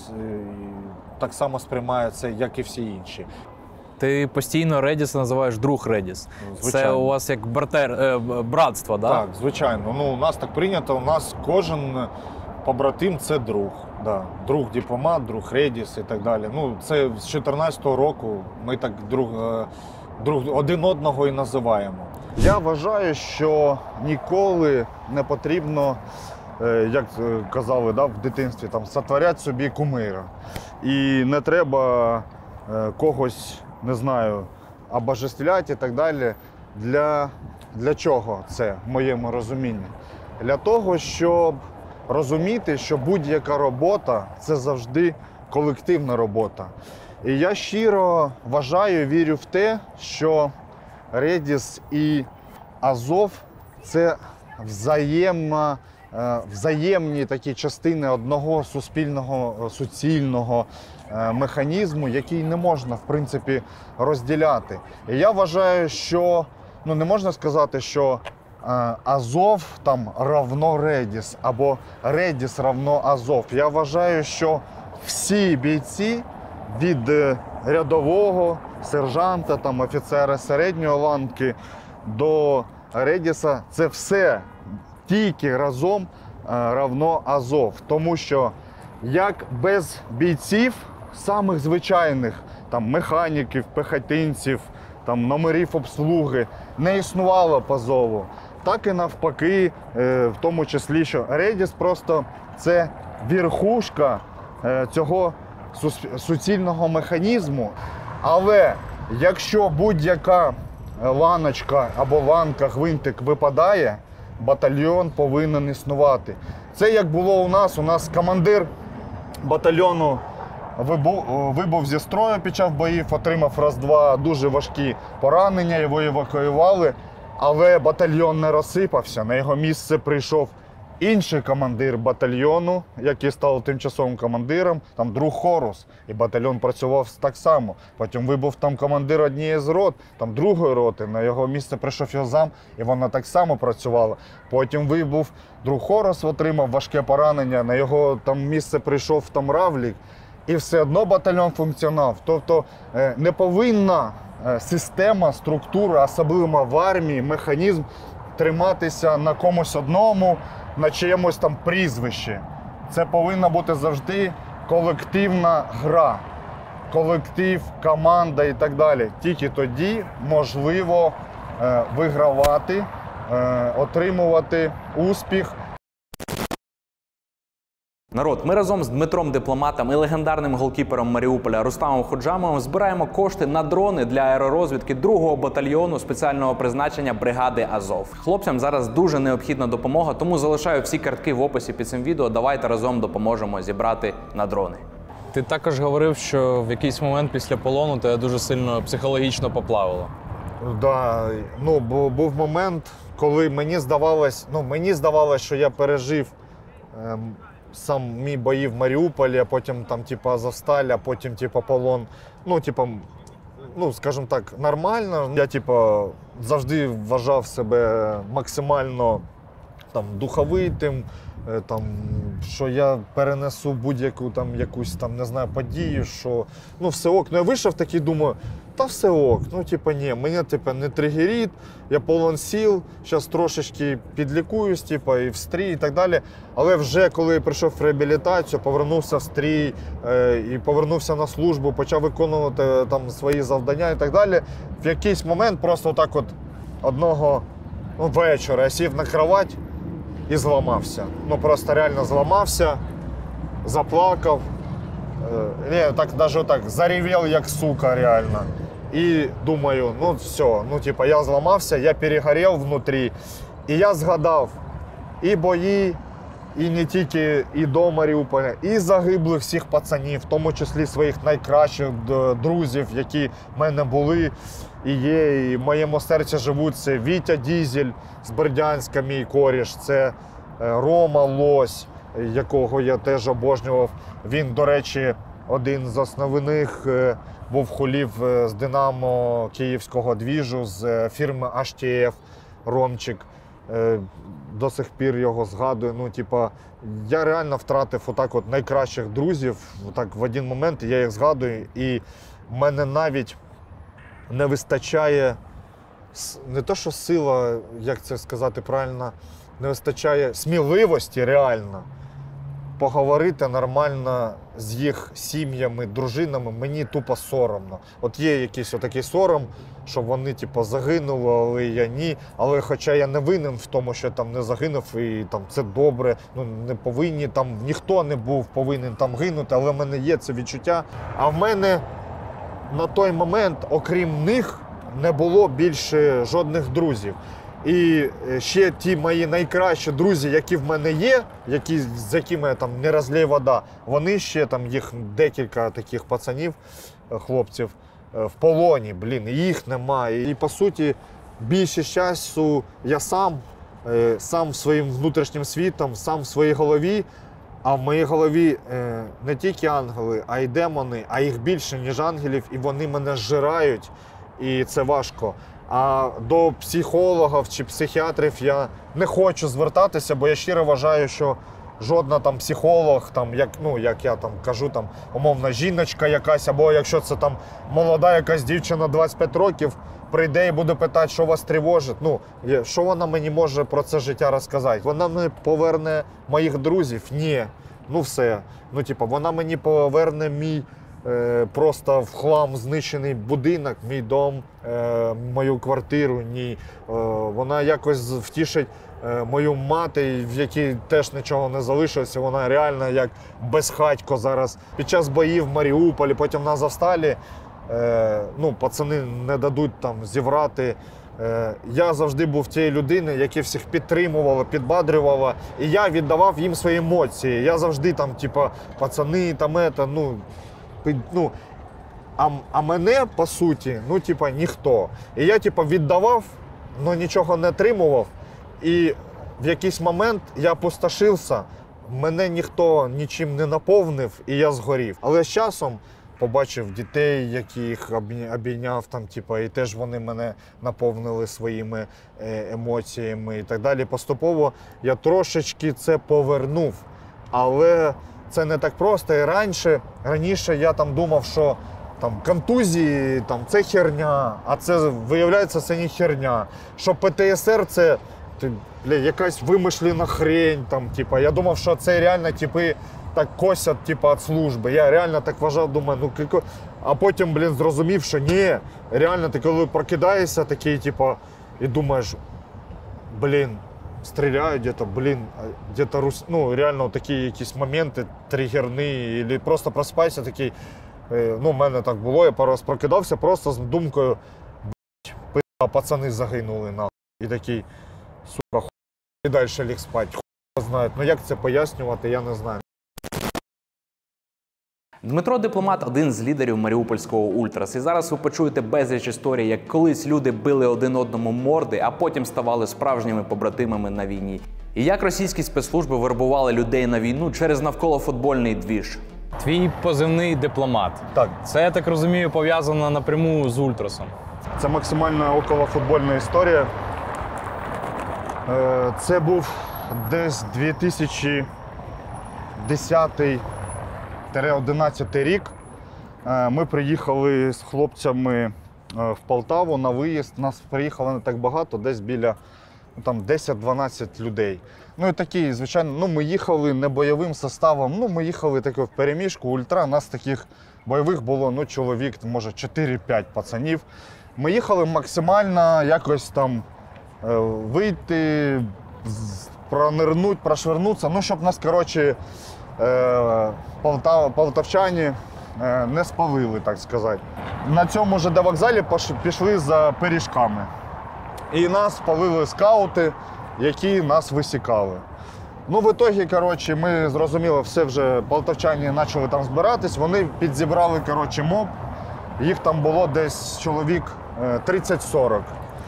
так само сприймає це, як і всі інші. Ти постійно Редіса називаєш друг Редіс. Звичайно. Це у вас як братер, е, братство, да? Так, звичайно. Ну, у нас так прийнято, у нас кожен побратим – це друг. Да. Друг дипломат, друг Редіс і так далі. Ну, це з чотирнадцятого року ми так друг, друг один одного і називаємо. Я вважаю, що ніколи не потрібно, як казали, да, в дитинстві, там, сотворяти собі кумира. І не треба когось, не знаю, обожествляти і так далі. Для, для чого це, в моєму розумінні? Для того, щоб розуміти, що будь-яка робота – це завжди колективна робота. І я щиро вважаю, вірю в те, що Редіс і Азов – це взаємно, взаємні такі частини одного суспільного, суцільного механізму, який не можна, в принципі, розділяти. І я вважаю, що, ну, не можна сказати, що Азов там равно Редіс, або Редіс равно Азов. Я вважаю, що всі бійці від рядового, сержанта, там, офіцера середньої ланки до Редіса, це все тільки разом равно Азов. Тому що як без бійців, самих звичайних, там, механіків, пехотинців, там, номерів обслуги, не існувало по Азову, так і навпаки, в тому числі, що Редіс просто це верхушка цього суцільного механізму. Але якщо будь-яка ланочка або ланка, гвинтик випадає, батальйон повинен існувати. Це як було у нас, у нас командир батальйону вибув зі строю під час боїв, отримав раз-два дуже важкі поранення, його евакуювали, але батальйон не розсипався, на його місце прийшов інший командир батальйону, який став тимчасовим командиром, там друг Хорус, і батальйон працював так само. Потім вибув там командир однієї з рот, там другої роти, на його місце прийшов його зам, і вона так само працювала. Потім вибув друг Хорус, отримав важке поранення, на його там місце прийшов там Равлік, і все одно батальйон функціонував. Тобто не повинна система, структура, особливо в армії, механізм триматися на комусь одному, на чиємусь там прізвищі. Це повинна бути завжди колективна гра, колектив, команда і так далі. Тільки тоді можливо е, вигравати, е, отримувати успіх. Народ, ми разом з Дмитром Дипломатом і легендарним голкіпером Маріуполя Рустамом Ходжамовим збираємо кошти на дрони для аеророзвідки другого батальйону спеціального призначення бригади Азов. Хлопцям зараз дуже необхідна допомога, тому залишаю всі картки в описі під цим відео. Давайте разом допоможемо зібрати на дрони. Ти також говорив, що в якийсь момент після полону тебе дуже сильно психологічно поплавило. Да, ну, був момент, коли мені здавалось, ну, мені здавалось, що я пережив ем, сам мій бої в Маріуполі, а потім там, типу, Азовсталь, а потім, типу, полон. Ну, типу, ну, скажімо так, нормально. Я, типу, завжди вважав себе максимально там духовитим, там, що я перенесу будь-яку там якусь там, не знаю, подію, що ну все ок. Ну я вийшов такий, думаю, та все ок, ну типа ні, мене типа не тригерить, я повен сил, зараз трошечки підлікуюсь, типа, і в стрій і так далі. Але вже коли я прийшов в реабілітацію, повернувся в стрій е, і повернувся на службу, почав виконувати там свої завдання і так далі, в якийсь момент просто так от одного ну, вечора я сів на кровать і зламався. Ну просто реально зламався, заплакав. Не, так навіть так, заревел як сука реально. І думаю, ну все, ну типа я зламався, я перегорів внутрі. І я згадав і бої, і не тільки і до Маріуполя, і загиблих всіх пацанів, в тому числі своїх найкращих друзів, які в мене були і є, і в моєму серці живуть. Це Вітя Дізель з Бердянська, мій коріш, це Рома Лось, якого я теж обожнював. Він, до речі, один з основних був хулів з Динамо Київського двіжу, з фірми аш ті еф, Ромчик. До сих пір його згадую. Ну, типа, я реально втратив отак от найкращих друзів. Отак в один момент я їх згадую, і в мене навіть не вистачає, не то що сила, як це сказати правильно, не вистачає сміливості реально поговорити нормально з їх сім'ями, дружинами. Мені тупо соромно. От є якийсь отакий сором, що вони типу, загинули, але я ні. Але хоча я не винен в тому, що я там не загинув, і там це добре, ну не повинні, там ніхто не був повинен там гинути, але в мене є це відчуття. А в мене на той момент, окрім них, не було більше жодних друзів. І ще ті мої найкращі друзі, які в мене є, які, з якими я там не розлій вода, вони ще там, їх декілька таких пацанів, хлопців, в полоні, блін, їх немає. І по суті, більшість часу я сам, сам своїм внутрішнім світом, сам в своїй голові, а в моїй голові не тільки ангели, а й демони, а їх більше, ніж ангелів, і вони мене зжирають, і це важко. А до психологів чи психіатрів я не хочу звертатися, бо я щиро вважаю, що жодна там психолог, там, як, ну, як я там кажу, там, умовна жіночка якась, або якщо це там молода якась дівчина двадцять п'ять років, прийде і буде питати, що вас тривожить, ну, що вона мені може про це життя розказати? Вона мені поверне моїх друзів? Ні. Ну все. Ну, типу, вона мені поверне мій просто в хлам знищений будинок, мій дом, мою квартиру, ні. Вона якось втішить мою мати, в якій теж нічого не залишилося. Вона реально як безхатько зараз. Під час боїв в Маріуполі, потім на Азовсталі, ну, пацани не дадуть там зіврати. Я завжди був тією людиною, яка всіх підтримувала, підбадрювала, і я віддавав їм свої емоції. Я завжди там, типа, пацани, там, это, ну, Ну, а, а мене, по суті, ну, типа, ніхто. І я, типа, віддавав, але нічого не отримував. І в якийсь момент я опустошився, мене ніхто нічим не наповнив і я згорів. Але з часом побачив дітей, яких обійняв, там, типу, і теж вони мене наповнили своїми емоціями і так далі. Поступово я трошечки це повернув, але це не так просто. І раніше, раніше я там думав, що там контузії, там, це херня, а це, виявляється, це не херня. Що Пе Те Ес Ер це бля, якась вимишлена хрень. Там, типу. Я думав, що це реально типи так косять типу, від служби. Я реально так вважав, думаю, ну кілько... А потім, блін, зрозумів, що ні, реально ти коли прокидаєшся такий, типу, і думаєш, блін, стріляють где-то, блін, где-то, рус... ну, реально такі якісь моменти тригерні, або просто проспайся такий, ну, в мене так було, я пару раз прокидався просто з думкою, блядь, пи***, пацани загинули, нахуй. І такий, сука, хуй, і далі ліг спать, хуй знає. Ну, як це пояснювати, я не знаю. Дмитро Дипломат – один з лідерів маріупольського ультрас. І зараз ви почуєте безліч історій, як колись люди били один одному морди, а потім ставали справжніми побратимами на війні. І як російські спецслужби вербували людей на війну через навколофутбольний двіж. Твій позивний Дипломат. Так. Це, я так розумію, пов'язано напряму з ультрасом. Це максимально околофутбольна історія. Це був десь дві тисячі десятий одинадцятий рік. Ми приїхали з хлопцями в Полтаву на виїзд. Нас приїхало не так багато, десь біля там, десять-дванадцять людей. Ну і такі, звичайно, ну, ми їхали не бойовим составом, ну, ми їхали таке в переміжку, ультра. Нас таких бойових було, ну, чоловік, може, чотири-п'ять пацанів. Ми їхали максимально якось там вийти, пронирнути, прошвернутися, ну, щоб нас, коротше, Полтав, полтавчані не спалили, так сказати. На цьому же вокзалі пішли за пиріжками. І нас спалили скаути, які нас висікали. Ну, в ітогі, коротше, ми зрозуміли, все вже полтавчані почали там збиратись, вони підзібрали, коротше, моб. Їх там було десь чоловік тридцять-сорок.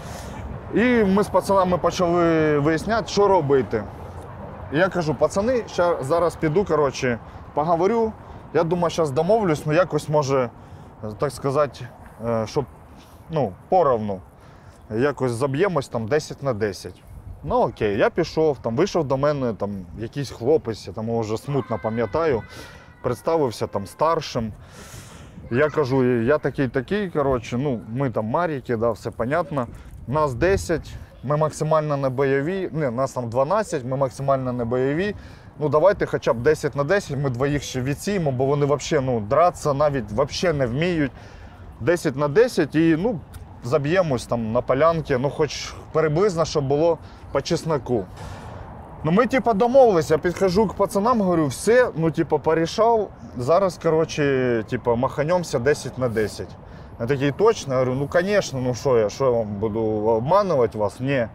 І ми з пацанами почали виясняти, що робити. І я кажу, пацани, ще зараз піду, коротше, поговорю. Я думаю, зараз домовлюсь, ну якось може, так сказати, щоб, ну, поровну. Якось заб'ємось там десять на десять. Ну окей, я пішов, там вийшов до мене там якийсь хлопець, я там вже смутно пам'ятаю, представився там старшим. Я кажу, я такий-такий, коротше, ну, ми там маріки, да, все понятно. Нас десять. Ми максимально не бойові, не, нас там дванадцять, ми максимально не бойові. Ну давайте хоча б десять на десять, ми двоїх ще відсіємо, бо вони взагалі, ну, дратися навіть взагалі не вміють. десять на десять і, ну, заб'ємось там на полянки, ну хоч приблизно, щоб було по чесноку. Ну ми, типу, домовилися, я підходжу к пацанам, говорю, все, ну, типу, порішав, зараз, коротше, типу, маханемося десять на десять. Я такий, точно? Я говорю, ну, звісно, ну що я, що я вам буду обманувати вас? Ні.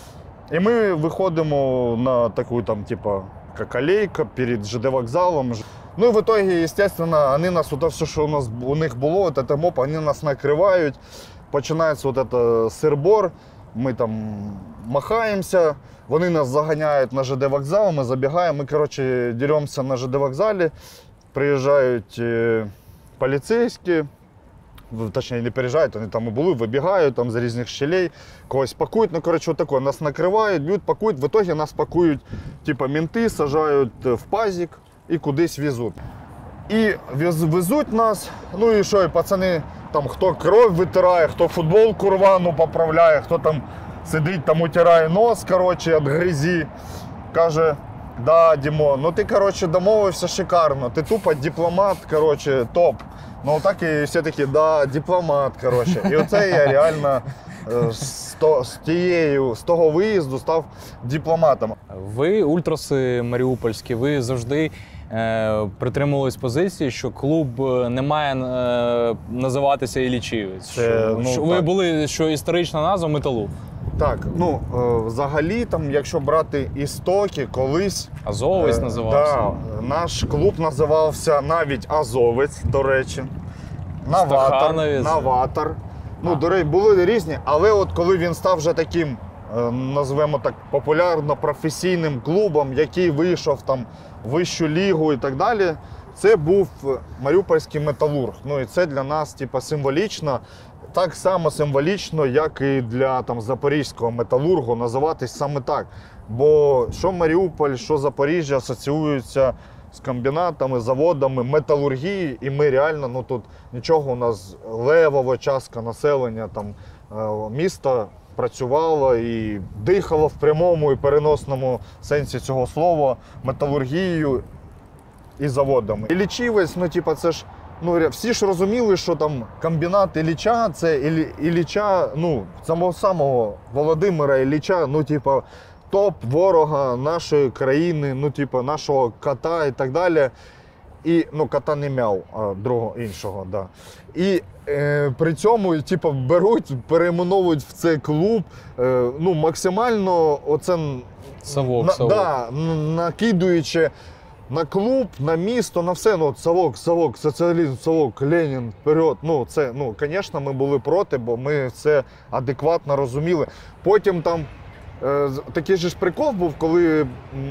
І ми виходимо на таку, там, типу, як алейка перед Же Де вокзалом. Ну і в итоге, естественно, вони нас, вот все, що у нас у них було, вот это моп, вони нас накривають. Починається вот это сир-бор, ми там махаємося, вони нас заганяють на Же Де вокзал, ми забігаємо, ми, коротше, деремося на Же Де вокзалі, приїжджають поліцейські, точніше, не приїжджають, вони там і були, вибігають там з різних щелей, когось пакують, ну, коротше, отако, нас накривають, б'ють, пакують, в итоге нас пакують, типу, менти, сажають в пазик і кудись везуть. І везуть нас, ну і що, і пацани, там, хто кров витирає, хто футболку рвану поправляє, хто там сидить, там утирає нос, коротше, від грязі, каже, да, Дімон, ну ти, коротше, домовився шикарно, ти тупо дипломат, коротше, топ. Ну так і всі такі, да, дипломат, коротше. І оце я реально з, то, з, тією, з того виїзду став дипломатом. Ви, ультраси маріупольські, ви завжди е, притримувались позиції, що клуб не має е, називатися Іллічівець. Що, ну, що ви були, що історична назва Металург. Так, ну, е, взагалі, там, якщо брати істоки, колись... Азовець е, називався. Да, наш клуб називався навіть Азовець, до речі. Новатор. Новатор. Ну, до речі, були різні, але от коли він став вже таким назвемо так популярно професійним клубом, який вийшов там в вищу лігу і так далі, це був Маріупольський Металург. Ну і це для нас типу, символічно, так само символічно, як і для там, Запорізького Металургу називатись саме так. Бо що Маріуполь, що Запоріжжя асоціюються з комбінатами, заводами, металургії, і ми реально, ну тут нічого у нас, левова частка населення там, міста працювало і дихало в прямому і переносному сенсі цього слова металургією і заводами. Іллічівець, ну типа це ж, ну всі ж розуміли, що там комбінат Ілліча, це Іллі, Ілліча, ну самого самого Володимира Ілліча, ну типа топ ворога нашої країни, ну типа нашого кота і так далі. І, ну, кота не мяв, а другого іншого, да. І е, при цьому, типу, беруть, перейменовують в цей клуб, е, ну, максимально оце, Совок, на, совок. Да, накидуючи на клуб, на місто, на все, ну, совок, совок, соціалізм, совок, Ленін, вперед. Ну, це, ну, звісно, ми були проти, бо ми це адекватно розуміли. Потім там е, такий же ж прикол був, коли м,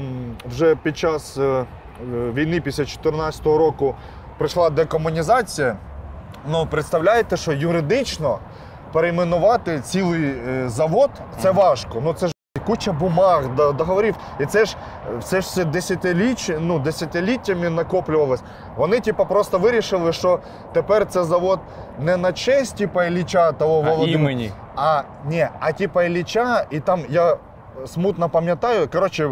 вже під час е, війни після чотирнадцятого року прийшла декомунізація. Ну, представляєте, що юридично перейменувати цілий завод – це важко. Ну, це ж куча бумаг, договорів. І це ж, це ж все десятиліть, ну, десятиліттями накоплювалось. Вони, типу, просто вирішили, що тепер це завод не на честь, типу, Ілліча того Володимира. А імені. А, ні, а типу Ілліча, і там, я смутно пам'ятаю, коротше,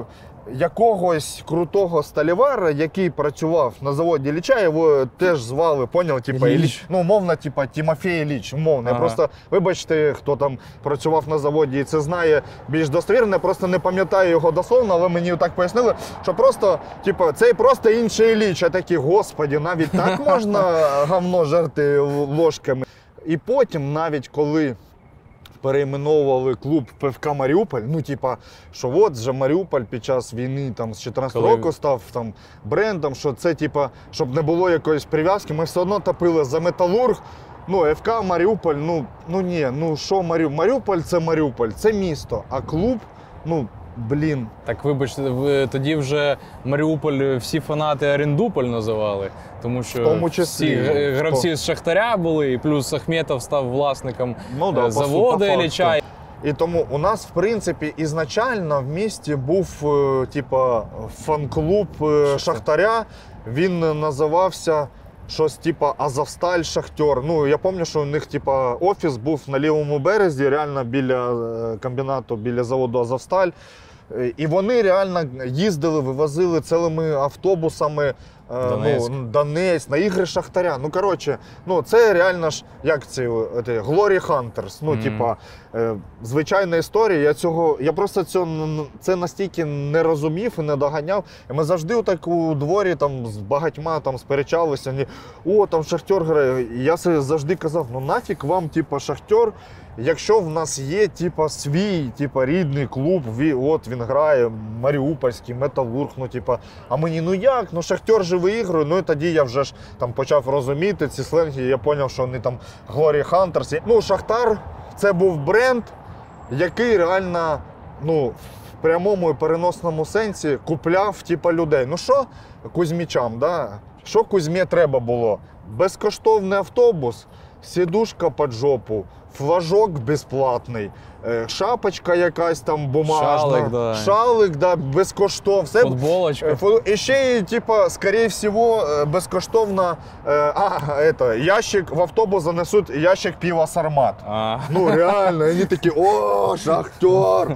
якогось крутого сталівара, який працював на заводі Ілліча, його теж звали, поняв, типа Ілліч. Ну, умовно, типа Тимофій Ілліч, умовно. Ага. Просто, вибачте, хто там працював на заводі і це знає більш достовірно, я просто не пам'ятаю його дословно, але мені так пояснили, що просто, типа, це просто інший Ілліч. А такі, господі, навіть так можна говно жерти ложками. І потім, навіть коли перейменовували клуб ПФК Маріуполь, ну, типа, що от же Маріуполь під час війни там, з чотирнадцятого року став там, брендом, що це, типа, щоб не було якоїсь прив'язки, ми все одно топили за Металург. Ну, ФК Маріуполь, ну, ну ні, ну що Маріуполь? Маріуполь – це Маріуполь, це місто, а клуб, ну, блін. Так, вибачте, ви тоді вже Маріуполь всі фанати Орендуполь називали, тому що тому числі, всі гравці хто? з Шахтаря були, і плюс Ахметов став власником ну, да, заводу Ілліча. І тому у нас, в принципі, ізначально в місті був, типа, фан-клуб Шахтаря, він називався щось типа Азовсталь, Шахтер. Ну, я пам'ятаю, що у них типа офіс був на лівому березі, реально біля комбінату, біля заводу Азовсталь. І вони реально їздили, вивозили цілими автобусами Донецьк, ну, Донецьк на ігри Шахтаря. Ну, коротше, ну, це реально ж, як це, Glory Hunters. Ну, mm-hmm. типа, е, звичайна історія. Я цього, я просто цього, це настільки не розумів і не доганяв. І ми завжди так у дворі там з багатьма там сперечалися. Ні, о, там Шахтер грає. І я завжди казав, ну нафіг вам, типа, Шахтер, якщо в нас є, типа, свій, типа, рідний клуб, от він грає, Маріупольський, Металург, ну, типа, а мені, ну як, ну Шахтер же виігрує, ну і тоді я вже ж там почав розуміти ці сленги, я зрозумів, що вони там Glory Hunters. Ну, Шахтар – це був бренд, який реально, ну, в прямому і переносному сенсі купляв, типа, людей. Ну що Кузьмічам, да? Що Кузьмі треба було? Безкоштовний автобус, сідушка під жопу, флажок безплатний, шапочка якась там бумажна, шалик, да, шалик, да, безкоштовно. Все, футболочка. Фу, і ще, типа, скорее всего, безкоштовно, а, это, ящик, в автобус занесуть ящик пива Сармат. А. Ну, реально, вони такі, о, Шахтер.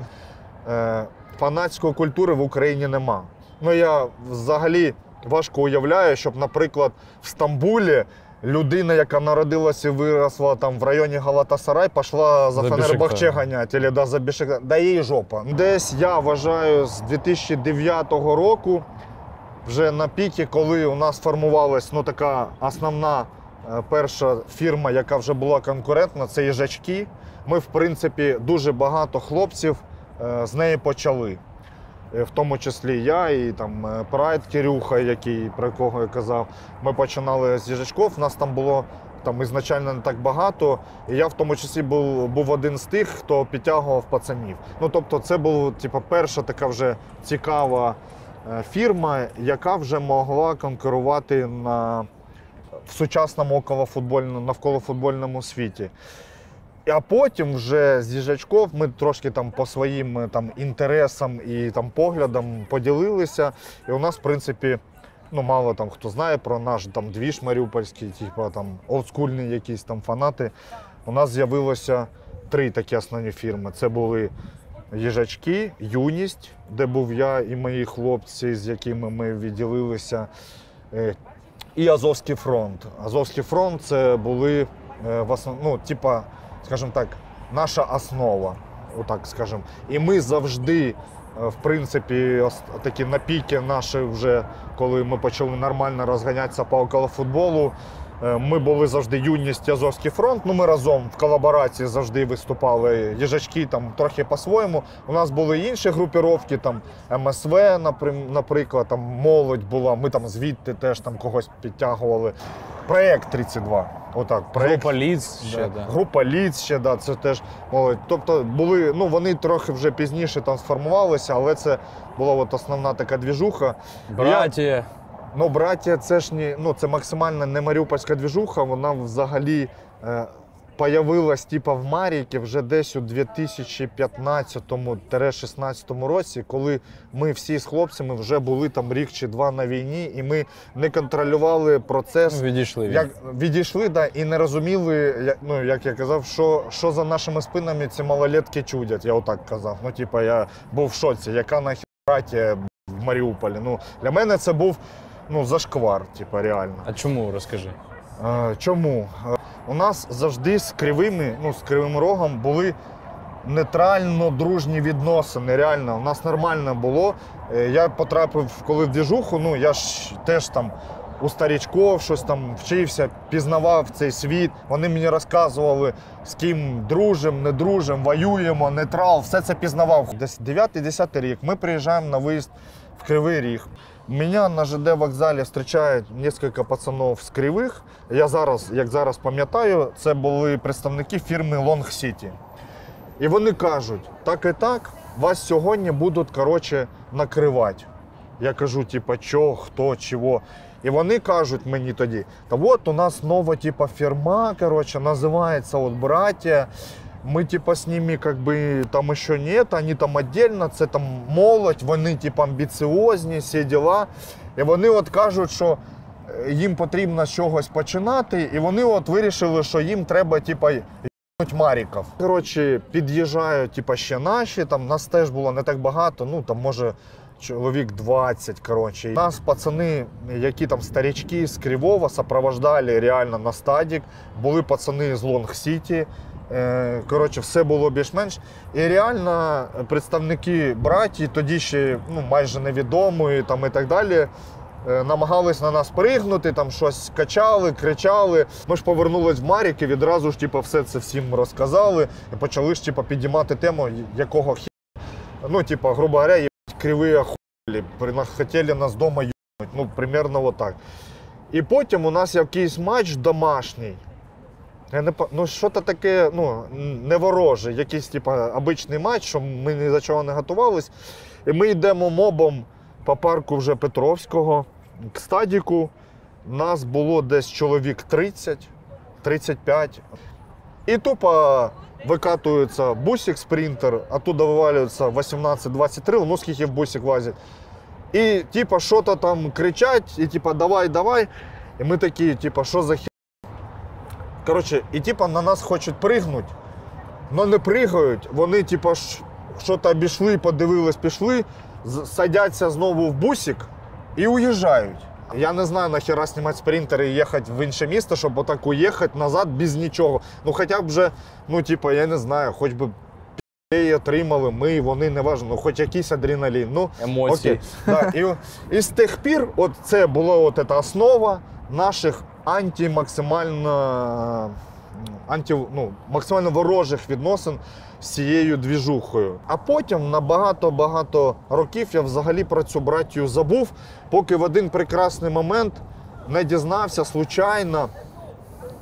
Фанатської культури в Україні нема. Ну, я взагалі важко уявляю, щоб, наприклад, в Стамбулі людина, яка народилася і виросла там в районі Галатасарай, пішла за, за Фенербахче ганяти, або да, за Бешикташ. Да їй жопа. Десь, я вважаю, з дві тисячі дев'ятого року, вже на піки, коли у нас формувалась, ну, така основна перша фірма, яка вже була конкурентна, це їжачки. Ми, в принципі, дуже багато хлопців з неї почали. В тому числі я і там Прайд Кирюха, який, про кого я казав. Ми починали з їжачків, у нас там було там ізначально не так багато. І я в тому числі був, був один з тих, хто підтягував пацанів. Ну, тобто це була типу, перша така вже цікава фірма, яка вже могла конкурувати на, в сучасному околофутбольному, навколофутбольному світі. А потім вже з їжачков ми трошки там по своїм там, інтересам і там, поглядам поділилися. І у нас, в принципі, ну, мало там хто знає про наш там, двіж маріупольський, типу, там, олдскульні якісь там фанати. У нас з'явилося три такі основні фірми. Це були їжачки, юність, де був я і мої хлопці, з якими ми відділилися, і Азовський фронт. Азовський фронт – це були, в основ... ну, типа, скажімо так, наша основа, отак скажімо. І ми завжди, в принципі, такі на піки наші вже, коли ми почали нормально розганятися по околофутболу, ми були завжди юність і Азовський фронт, ну ми разом в колаборації завжди виступали, їжачки там трохи по-своєму. У нас були інші групіровки, там ем ес ве, наприклад, там молодь була, ми там звідти теж там когось підтягували. Проєкт тридцять два, отак. Проєкт, група Ліц ще, да. Да. Група Ліц ще, да, це теж молодь. Тобто були, ну вони трохи вже пізніше там сформувалися, але це була от основна така двіжуха. Братія. Ну, браття, це ж не, ну, це максимально не маріупольська двіжуха, вона взагалі е, появилась типу, в Мар'їнці вже десь у дві тисячі п'ятнадцятому - шістнадцятому році, коли ми всі з хлопцями вже були там рік чи два на війні, і ми не контролювали процес. Відійшли. Як, відійшли, да, і не розуміли, як, ну, як я казав, що, що за нашими спинами ці малолетки чудять, я отак казав. Ну, типу, я був в шоці, яка нахер браття в Маріуполі. Ну, для мене це був ну, зашквар, типу, реально. А чому, розкажи? А, чому? У нас завжди з кривими, ну, з кривим рогом були нейтрально-дружні відносини, реально. У нас нормально було. Я потрапив, коли в двіжуху, ну, я ж теж там у старічков щось там вчився, пізнавав цей світ. Вони мені розказували, з ким дружимо, не дружимо, воюємо, нейтрал, все це пізнавав. Десь дев'ятий-десятий рік ми приїжджаємо на виїзд в Кривий Ріг. Меня на ЖД вокзалі зустрічають кілька пацанів з Кривих. Я зараз, як зараз пам'ятаю, це були представники фірми Long City. І вони кажуть, так і так, вас сьогодні будуть, коротше, накривати. Я кажу, типа, що, хто, чого. І вони кажуть мені тоді, та от у нас нова, типа, фірма, коротше, називається от «Братія». Мы типа с ними как бы там еще нет, они там отдельно, це там молодь, вони типа амбіціозні, всі діла. І вони от кажуть, що їм потрібно з чогось починати, і вони от вирішили, що їм треба типа їбнуть маріків. Коротше, під'їжджають типа ще наші, там нас теж було не так багато, ну там може чоловік двадцять, коротше. Нас пацани, які там старички з Кривого, сопровождали реально на стадік, були пацани з Long City. Коротше, все було більш-менш. І реально представники братії, тоді ще ну, майже невідомої там, і так далі, намагались на нас пригнути, там щось качали, кричали. Ми ж повернулись в Мар'їнку і відразу ж типу, все це всім розказали і почали ж типу, підіймати тему, якого хі... Ну, типу, грубо говоря, їбать, криві охуєлі, хотіли нас вдома їбнуть, ну, примерно отак. І потім у нас якийсь матч домашній. Я не, ну, що-то таке, ну, не вороже, якийсь, типу, обичний матч, що ми ні за чого не готувались. І ми йдемо мобом по парку вже Петровського, к стадіку. Нас було десь чоловік тридцять - тридцять п'ять. І тупо викатується бусик спринтер, оттуда вивалюється вісімнадцять двадцять три, ну скільки в бусик влазить. І, типу, що-то там кричать, і, типу, давай, давай. І ми такі, типу, що за хі... Коротше, і типа на нас хочуть пригнути, але не пригають. Вони типа щось обійшли, подивились, пішли, садяться знову в бусик і уїжджають. Я не знаю, нахіра знімати спринтер і їхати в інше місто, щоб отак уїхати назад без нічого. Ну хоча б вже, ну типа, я не знаю, хоч би пі***ї отримали ми, вони, не важливо, ну хоч якийсь адреналін. Ну, емоції. Да, і, і з тих пір от це була от ця основа наших анті-максимально, анті, ну, максимально ворожих відносин з цією двіжухою. А потім на багато-багато років я взагалі про цю братію забув, поки в один прекрасний момент не дізнався случайно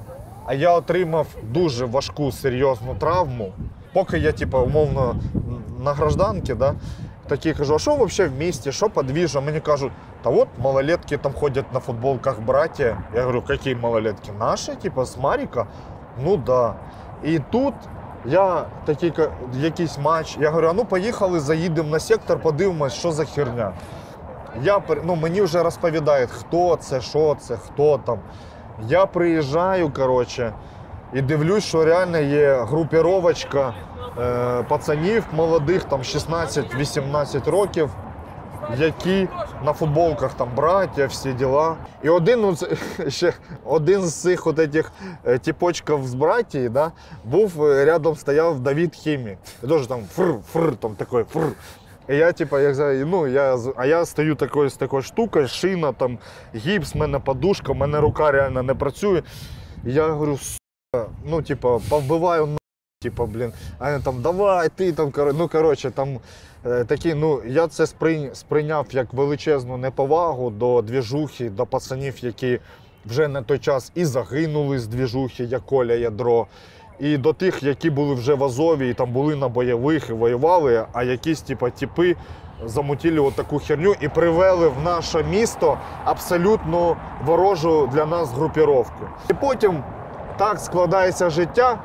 а я отримав дуже важку, серйозну травму. Поки я, типу, умовно, на гражданці, да, такі кажу, а що взагалі в місті, що подвіжа? Мені кажуть, та от малолетки там ходять на футболках братья. Я говорю, які малолетки? Наші, типу, з Маріка? Ну да. І тут я такий якийсь матч, я говорю, а ну поїхали, заїдемо на сектор, подивимось, що за херня. Я, ну, мені вже розповідають, хто це, що це, хто там. Я приїжджаю, коротше, і дивлюсь, що реально є групіровочка е, пацанів молодих, там шістнадцять-вісімнадцять років, які на футболках там браття, всі діла. І один, ну, ще, один з цих от этих типочків з братії, да, був, рядом стояв Давид Хімік. І теж там фр-фр, там такий фр. І я, типа, як, ну, я, а я стою такою, з такою штукою, шина, там, гіпс, в мене подушка, в мене рука реально не працює. І я говорю, сука, ну, типа, повбиваю на, типа, блін. А він там, давай, ти там, ну, коротше, там, е, такі, ну, я це сприйняв, сприйняв як величезну неповагу до двіжухи, до пацанів, які вже на той час і загинули з двіжухи, як Коля Ядро. І до тих, які були вже в Азові, і там були на бойових і воювали, а якісь типу, типи замутили от таку херню і привели в наше місто абсолютно ворожу для нас групіровку. І потім так складається життя,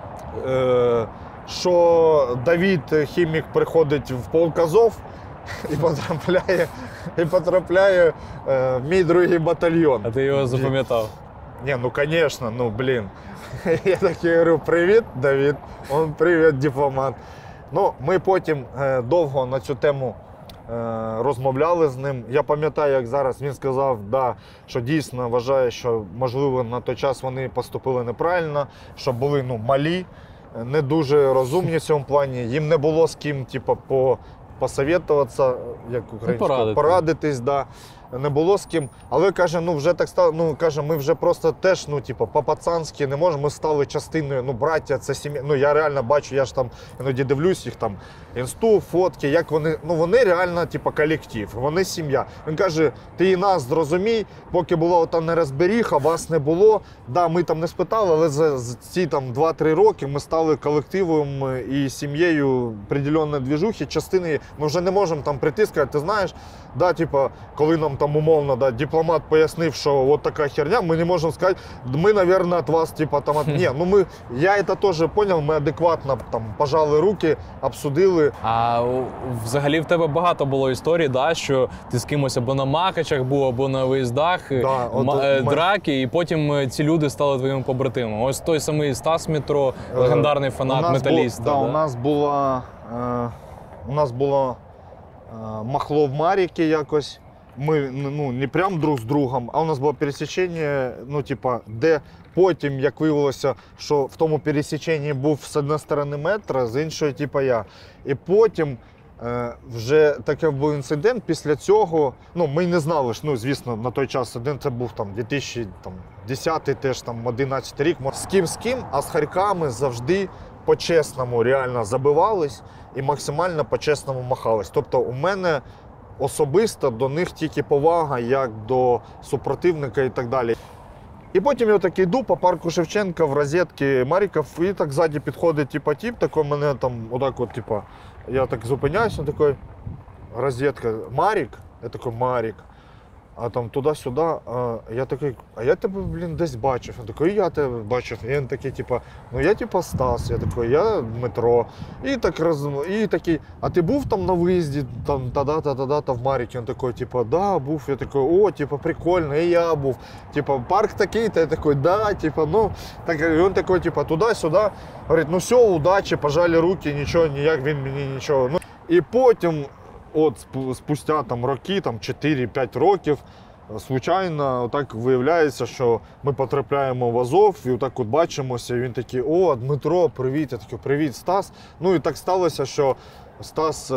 що Давид Хімік приходить в полк Азов і потрапляє, і потрапляє в мій другий батальйон. А ти його запам'ятав? Не, ну конечно, ну блин. Я такий говорю, привіт, Давид. Он, привіт, дипломат. Ну, ми потім е, довго на цю тему е, розмовляли з ним. Я пам'ятаю, як зараз він сказав, да, що дійсно вважає, що, можливо, на той час вони поступили неправильно, що були, ну, малі, не дуже розумні в цьому плані. Їм не було з ким, типу, по, посоветуватися, як українською, порадитись, да. Не було з ким, але каже, ну вже так стало, ну каже, ми вже просто теж, ну типу, по-пацанськи не можемо, ми стали частиною, ну браття, це сім'я, ну я реально бачу, я ж там іноді дивлюсь їх там, інсту, фотки, як вони, ну вони реально, типу, колектив, вони сім'я. Він каже, ти і нас зрозумій, поки була ота нерозберіха, вас не було, да, ми там не спитали, але за, за ці там два-три роки ми стали колективом і сім'єю определенної двіжухи, частини, ми вже не можемо там прийти, сказати, ти знаєш, да, типу, коли нам там умовно, да, дипломат пояснив, що от така херня, ми не можемо сказати, ми, мабуть, від вас, типу, там, от... ні, ну ми, я це теж зрозумів, ми адекватно там пожали руки, обсудили. А взагалі в тебе багато було історій, да, що ти з кимось або на Макачах був, або на виїздах, да, от, м- драки, і потім ці люди стали твоїми побратимами. Ось той самий Стас Мітро, легендарний фанат, металіст. Бу... Да, да. У нас було, е... у нас було е... махло в Маріки якось. Ми, ну, не прям друг з другом, а у нас було пересічення, ну, типа, де потім, як виявилося, що в тому пересіченні був з однієї сторони метро, з іншої, типа, я. І потім е, вже такий був інцидент, після цього, ну, ми не знали, що, ну, звісно, на той час один це був там дві тисячі десятий, теж там одинадцятий рік. З ким з ким, а з харьками завжди по-чесному реально забивались і максимально по-чесному махались. Тобто у мене особисто до них тільки повага, як до супротивника і так далі. І потім я так йду по парку Шевченка в розетки Маріков, і так ззаді підходить типа, тип, такий мене там, отак от, типа, я так зупиняюсь, він такий, розетка, Марік? Я такий, Марік. А там туди-сюди, а я такий, а я тебе, блін, десь бачив. Він такий, я тебе бачив. І він такий, типа, ну я типа Стас, я такий, я Дмитро. І так роз... і такий, а ти був там на виїзді, там, та-да-та-да-та в Маріки? Він такий, типа, да, був. Я такий, о, типа, прикольно, і я був. Типа, парк такий-то, я такий, да, типа, ну. Так, і він такий, типа, туди-сюди. Говорить, ну все, удачі, пожали руки, нічого, ніяк він мені нічого. Ну, і потім, от спустя там роки, там чотири-п'ять років, звичайно, так виявляється, що ми потрапляємо в Азов і отак от бачимося, і він такий, о, Дмитро, привіт, я такий, привіт, Стас. Ну і так сталося, що Стас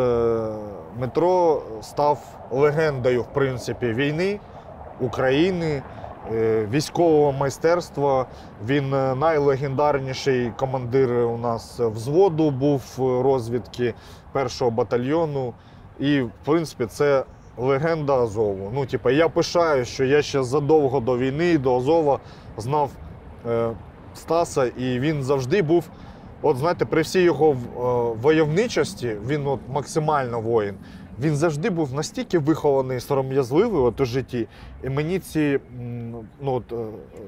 Митро став легендою, в принципі, війни, України, військового майстерства. Він найлегендарніший командир у нас взводу був розвідки першого батальйону. І, в принципі, це легенда Азову. Ну, типу, я пишаю, що я ще задовго до війни, до Азова знав е, Стаса, і він завжди був, от знаєте, при всій його е, войовничості, він от максимально воїн, він завжди був настільки вихований, сором'язливий от у житті. І мені ці, ну от, е,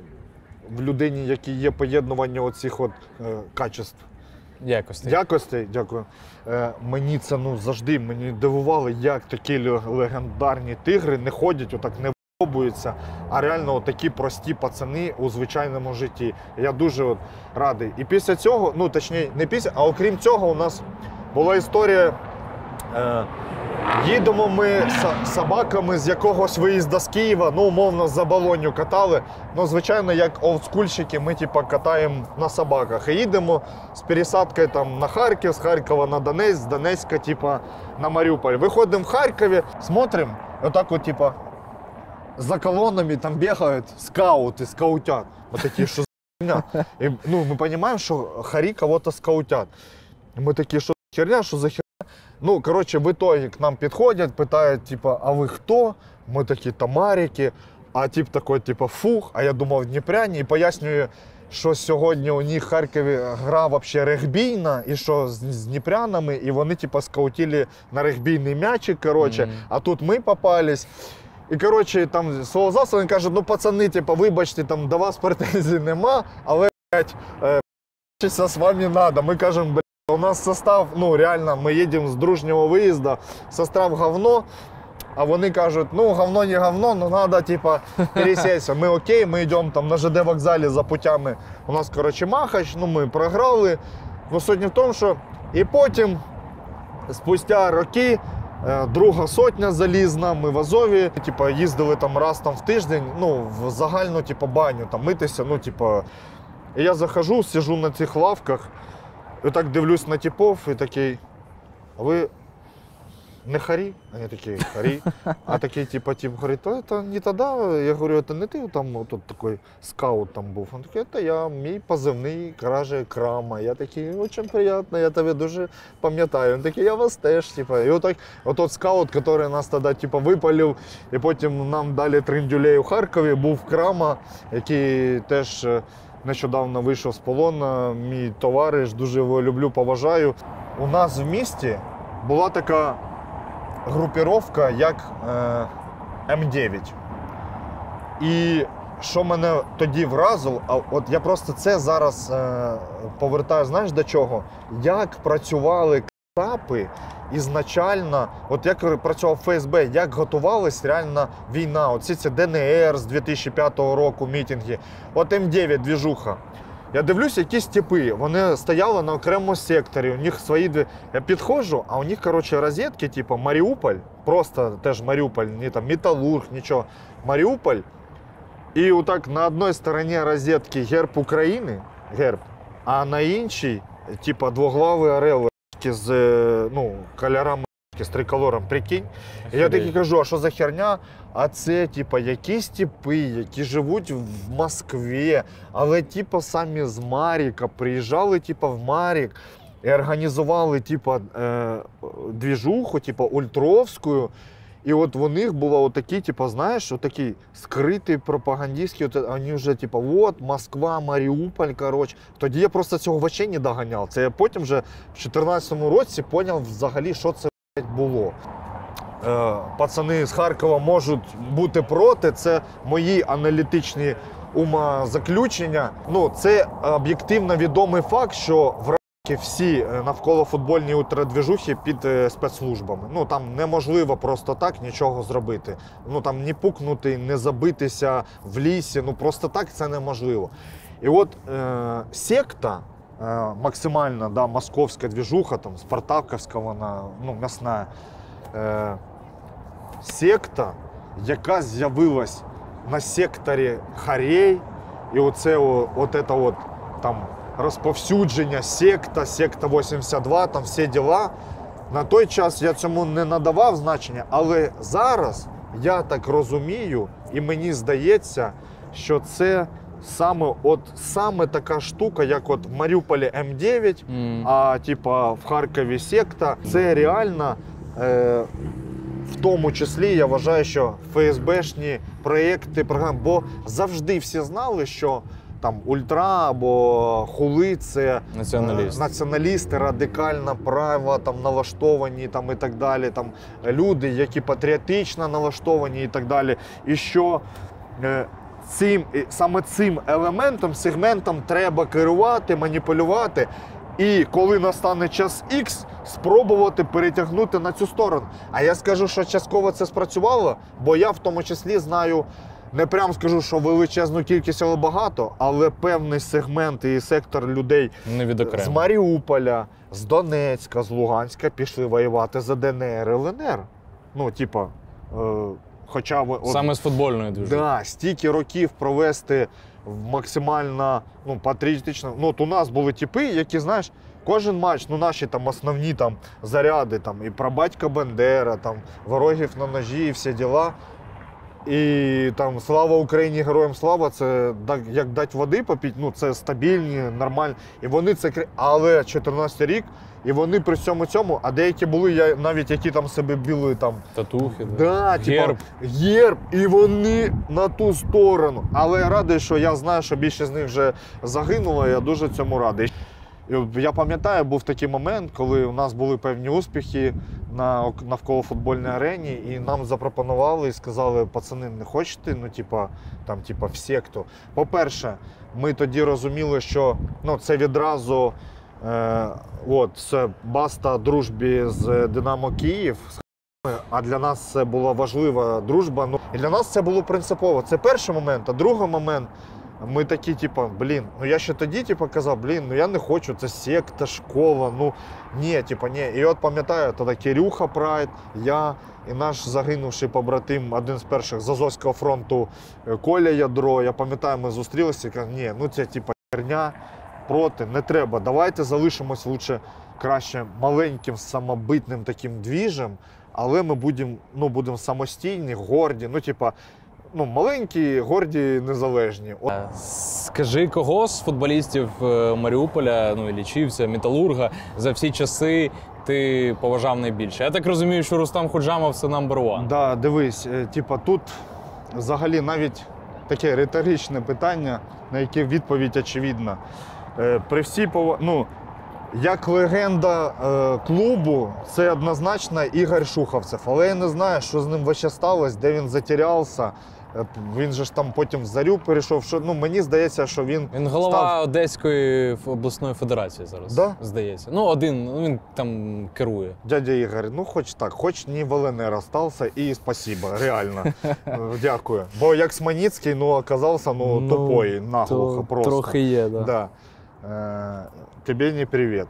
в людині, які є поєднування оцих от е, качеств, Якостей. Якостей, дякую. Е, мені це ну, завжди мені дивувало, як такі легендарні тигри не ходять, отак не вибуються, а реально такі прості пацани у звичайному житті. Я дуже от радий. І після цього, ну точніше, не після, а окрім цього, у нас була історія. Е, Їдемо ми з собаками з якогось виїзду з Києва, ну, умовно, за Болонью катали. Ну, звичайно, як олдскульщики, ми типу, катаємо на собаках. І їдемо з пересадкою там, на Харків, з Харкова на Донецьк, з Донецька типу, на Маріуполь. Виходимо в Харкові, смотримо, отак от, типу, за колоннами там бігають скаути, скаутят. Вот такі, що за херня. І, ну, ми розуміємо, що харі кого-то скаутят. І ми такі, що за херня, що за херня. Ну, коротше, в итоге к нам підходять, питають, типа, а ви хто? Ми такі, тамарики. А тип такий, типа, фух, а я думав, дніпряні. І пояснюю, що сьогодні у них в Харкові гра вообще регбійна, і що з, з дніпрянами, і вони, типа, скаутили на регбійний м'ячик, коротше. Mm-hmm. А тут ми попались. І, коротше, там свого засобу він каже, ну, пацани, типа, вибачте, там, до вас претензій нема, але, блядь, е, з вами надо. Ми кажемо, блядь, у нас состав, ну реально, ми їдемо з дружнього виїзду, состав говно, а вони кажуть, ну говно не говно, но треба, типа, пересеться. Ми окей, ми йдемо там на ЖД вокзалі за путями, у нас, коротше, Махач, ну ми програли. Ну суть не в тому, що і потім, спустя роки, друга сотня залізна, ми в Азові, типа, їздили там раз там в тиждень, ну, в загальну, типа, баню, там митися, ну, типа, і я захожу, сижу на цих лавках, і так дивлюсь на типов і такий, а ви не харі? Вони такі, харі. А такий, типа, тип говорить, то це не тоді. Я говорю, це не ти там тут такий скаут там був. Він такий, це я, мій позивний, каже, Крама. Я такий, дуже приємно, я тебе дуже пам'ятаю. Він такий, я вас теж, типа. І отак, отот скаут, який нас тоді, типа, випалив, і потім нам дали триндюлей у Харкові, був Крама, який теж нещодавно вийшов з полону, мій товариш, дуже його люблю, поважаю. У нас в місті була така групіровка, як е, М дев'ять. І що мене тоді вразило, а от я просто це зараз е, повертаю, знаєш до чого? Як працювали кацапи ізначально, от як працював Ф С Б, як готувалась реальна війна, оці ці Д Н Р з дві тисячі п'ятого року мітинги, от М дев'ять двіжуха. Я дивлюсь, якісь типи, вони стояли на окремому секторі, у них свої дві... Я підходжу, а у них, коротше, розетки, типу Маріуполь, просто теж Маріуполь, не там Металург, нічого, Маріуполь. І отак на одній стороні розетки герб України, герб, а на іншій, типу, двоглавий орел з, ну, кольорами, з триколором, прикинь. І я таки кажу, а що за херня? А це, типу, якісь типи, які живуть в Москві, але, типу, самі з Маріка, приїжджали, типу, в Марік і організували, типу, е, двіжуху, типу, ультровську. І от у них було отакі, типу, знаєш, отакі скриті пропагандистські, от, вони вже, типу, от, Москва, Маріуполь, коротше. Тоді я просто цього вообще не доганяв. Це я потім вже в дві тисячі чотирнадцятому році зрозумів взагалі, що це було. Е, пацани з Харкова можуть бути проти, це мої аналітичні умозаключення. Ну, це об'єктивно відомий факт, що в всі навколо футбольні ультрадвіжухи під спецслужбами. Ну, там неможливо просто так нічого зробити. Ну, там не пукнути, не забитися в лісі, ну, просто так це неможливо. І от е, секта, е, максимально, да, московська двіжуха, там, спартаковська вона, ну, м'ясна, е, секта, яка з'явилась на секторі Харей, і оце о, от це от, там, розповсюдження, секта, секта вісімдесят два, там всі діла. На той час я цьому не надавав значення, але зараз я так розумію, і мені здається, що це саме, от, саме така штука, як от в Маріуполі М дев'ять, mm. а типа в Харкові секта. Це реально, е, в тому числі, я вважаю, що ФСБшні проєкти, програми, бо завжди всі знали, що там ультра або хули, це Націоналісти. націоналісти, радикально право там налаштовані там, і так далі. Там, люди, які патріотично налаштовані і так далі. І що е, цим, саме цим елементом, сегментом треба керувати, маніпулювати. І коли настане час Х, спробувати перетягнути на цю сторону. А я скажу, що частково це спрацювало, бо я в тому числі знаю, не прям скажу, що величезну кількість, але багато, але певний сегмент і сектор людей з Маріуполя, з Донецька, з Луганська пішли воювати за Д Н Р, Л Н Р. Ну, типа, е, хоча б... Саме з футбольної движухи. Да, стільки років провести максимально ну, патріотично. Ну, от у нас були типи, які, знаєш, кожен матч, ну, наші там основні там заряди, там, і про батька Бандера, там, ворогів на ножі, і всі діла. І там слава Україні, героям слава, це як дати води попити, ну це стабільні, нормальні. І вони це, але чотирнадцятий рік, і вони при всьому цьому, а деякі були, я навіть які там себе біли там. Татухи, да, герб. Типу, герб, і вони на ту сторону. Але я радий, що я знаю, що більшість з них вже загинуло, і я дуже цьому радий. І я пам'ятаю, був такий момент, коли у нас були певні успіхи на навколо футбольній арені, і нам запропонували і сказали, пацани, не хочете, ну, типа, там, типа, в секту. По-перше, ми тоді розуміли, що ну, це відразу е, от, це баста дружбі з Динамо Київ, а для нас це була важлива дружба. Ну, і для нас це було принципово. Це перший момент, а другий момент, ми такі, типу, блін, ну я ще тоді типу, казав, блін, ну я не хочу, це секта, школа, ну ні, типу, ні. І от пам'ятаю, тоді Кирюха Прайд, я і наш загинувший побратим, один з перших з Азовського фронту Коля Ядро, я пам'ятаю, ми зустрілися і кажу, ні, ну це типу херня, проти, не треба, давайте залишимось лучше, краще маленьким, самобитним таким двіжем, але ми будемо, ну, будемо самостійні, горді, ну, типу, ну, маленькі, горді, незалежні. От. Скажи, кого з футболістів Маріуполя, ну, Іллічівця, Металурга за всі часи ти поважав найбільше? Я так розумію, що Рустам Худжамов – це number one. Да, дивись, типа тут взагалі навіть таке риторичне питання, на яке відповідь очевидна. При всій пов... ну, як легенда е, клубу, це однозначно Ігор Шуховцев. Але я не знаю, що з ним вообще сталося, де він затерявся. Він же ж там потім в Зарю перейшов. Що, ну, мені здається, що він Він голова став... Одеської обласної федерації зараз, да? Здається. Ну, один, ну, він там керує. Дядя Ігор, ну хоч так, хоч не в Л Н Р остався, і спасибо, реально. Дякую. Бо як Сманіцький, ну, оказався, ну, ну тупой, наглухо то, просто. Трохи є, да. Да. Е, тебе не привіт.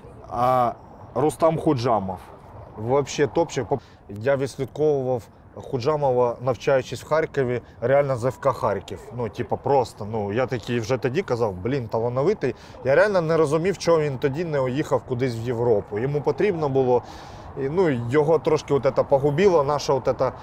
А Рустам Худжамов, взагалі топчик. Я відслідковував Худжамова, навчаючись в Харкові, реально з Ф К Харків. Ну, типа, просто, ну, я такий вже тоді казав, блін, талановитий. Я реально не розумів, чого він тоді не уїхав кудись в Європу. Йому потрібно було, і, ну, його трошки от це погубило, наша от це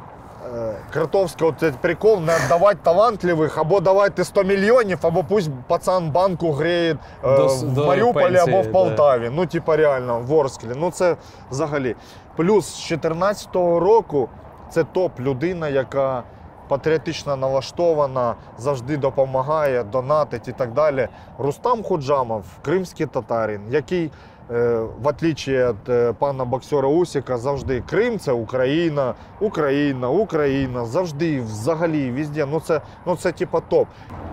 е, Кротовська от прикол, не віддавати талантливих, або давайте сто мільйонів, або пусть пацан банку греє е, до, в до Маріуполі пенсії, або в Полтаві. Да. Ну, типа, реально, в Ворсклі. Ну, це взагалі. Плюс з чотирнадцятого року це топ-людина, яка патріотично налаштована, завжди допомагає, донатить і так далі. Рустам Худжамов, кримський татарин, який, в отличие від пана боксера Усіка, завжди Крим – це Україна, Україна, Україна, завжди, взагалі, везде. Ну це, ну це типа топ.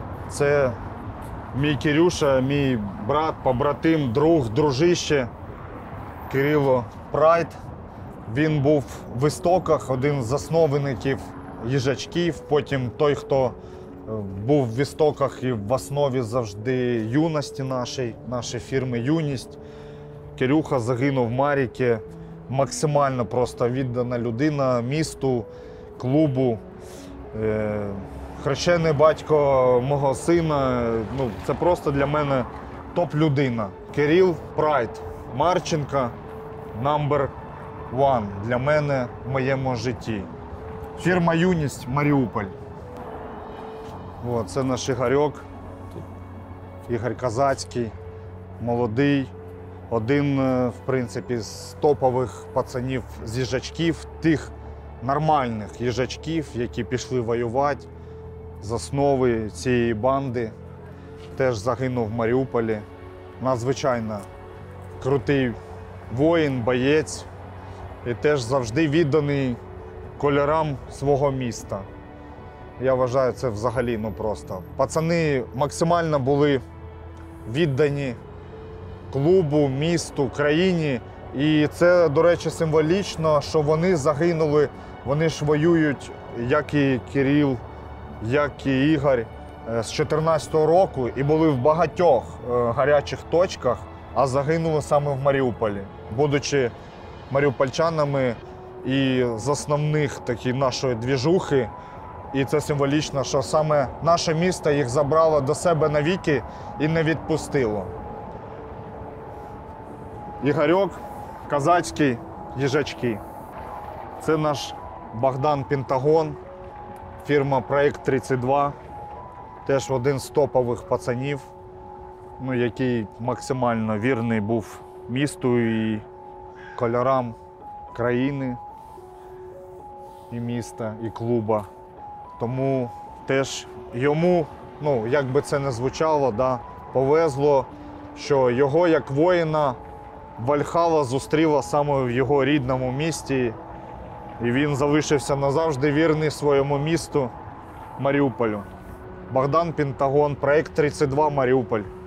Це мій Кирюша, мій брат, побратим, друг, дружище Кирило Прайд. Він був в істоках, один з засновників їжачків, потім той, хто був в істоках і в основі завжди юності нашої, нашої фірми «Юність». Кирюха загинув в Маріки, максимально просто віддана людина місту, клубу. Хрещений батько мого сина, ну, це просто для мене топ-людина. Кирил Прайд, Марченко, number one для мене в моєму житті. Фірма «Юність», Маріуполь. О, це наш Ігорьок, Ігор Казацький, молодий. Один, в принципі, з топових пацанів з їжачків, тих нормальних їжачків, які пішли воювати з основи цієї банди. теж загинув в Маріуполі. Надзвичайно крутий воїн, боєць і теж завжди відданий кольорам свого міста. Я вважаю, це взагалі ну просто. Пацани максимально були віддані клубу, місту, країні. І це, до речі, символічно, що вони загинули, вони ж воюють, як і Кирил, як і Ігор, з чотирнадцятого року і були в багатьох гарячих точках, а загинули саме в Маріуполі, будучи маріупольчанами і з основних такі нашої двіжухи. І це символічно, що саме наше місто їх забрало до себе навіки і не відпустило. Ігорьок, Козацький, їжачки. Це наш Богдан Пентагон, фірма Проект тридцять два. Теж один з топових пацанів, ну, який максимально вірний був місту і кольорам країни, і міста, і клуба. Тому теж йому, ну, як би це не звучало, да, повезло, що його як воїна Вальхала зустріла саме в його рідному місті, і він залишився назавжди вірний своєму місту Маріуполю. Богдан Пентагон, Проект тридцять два, Маріуполь.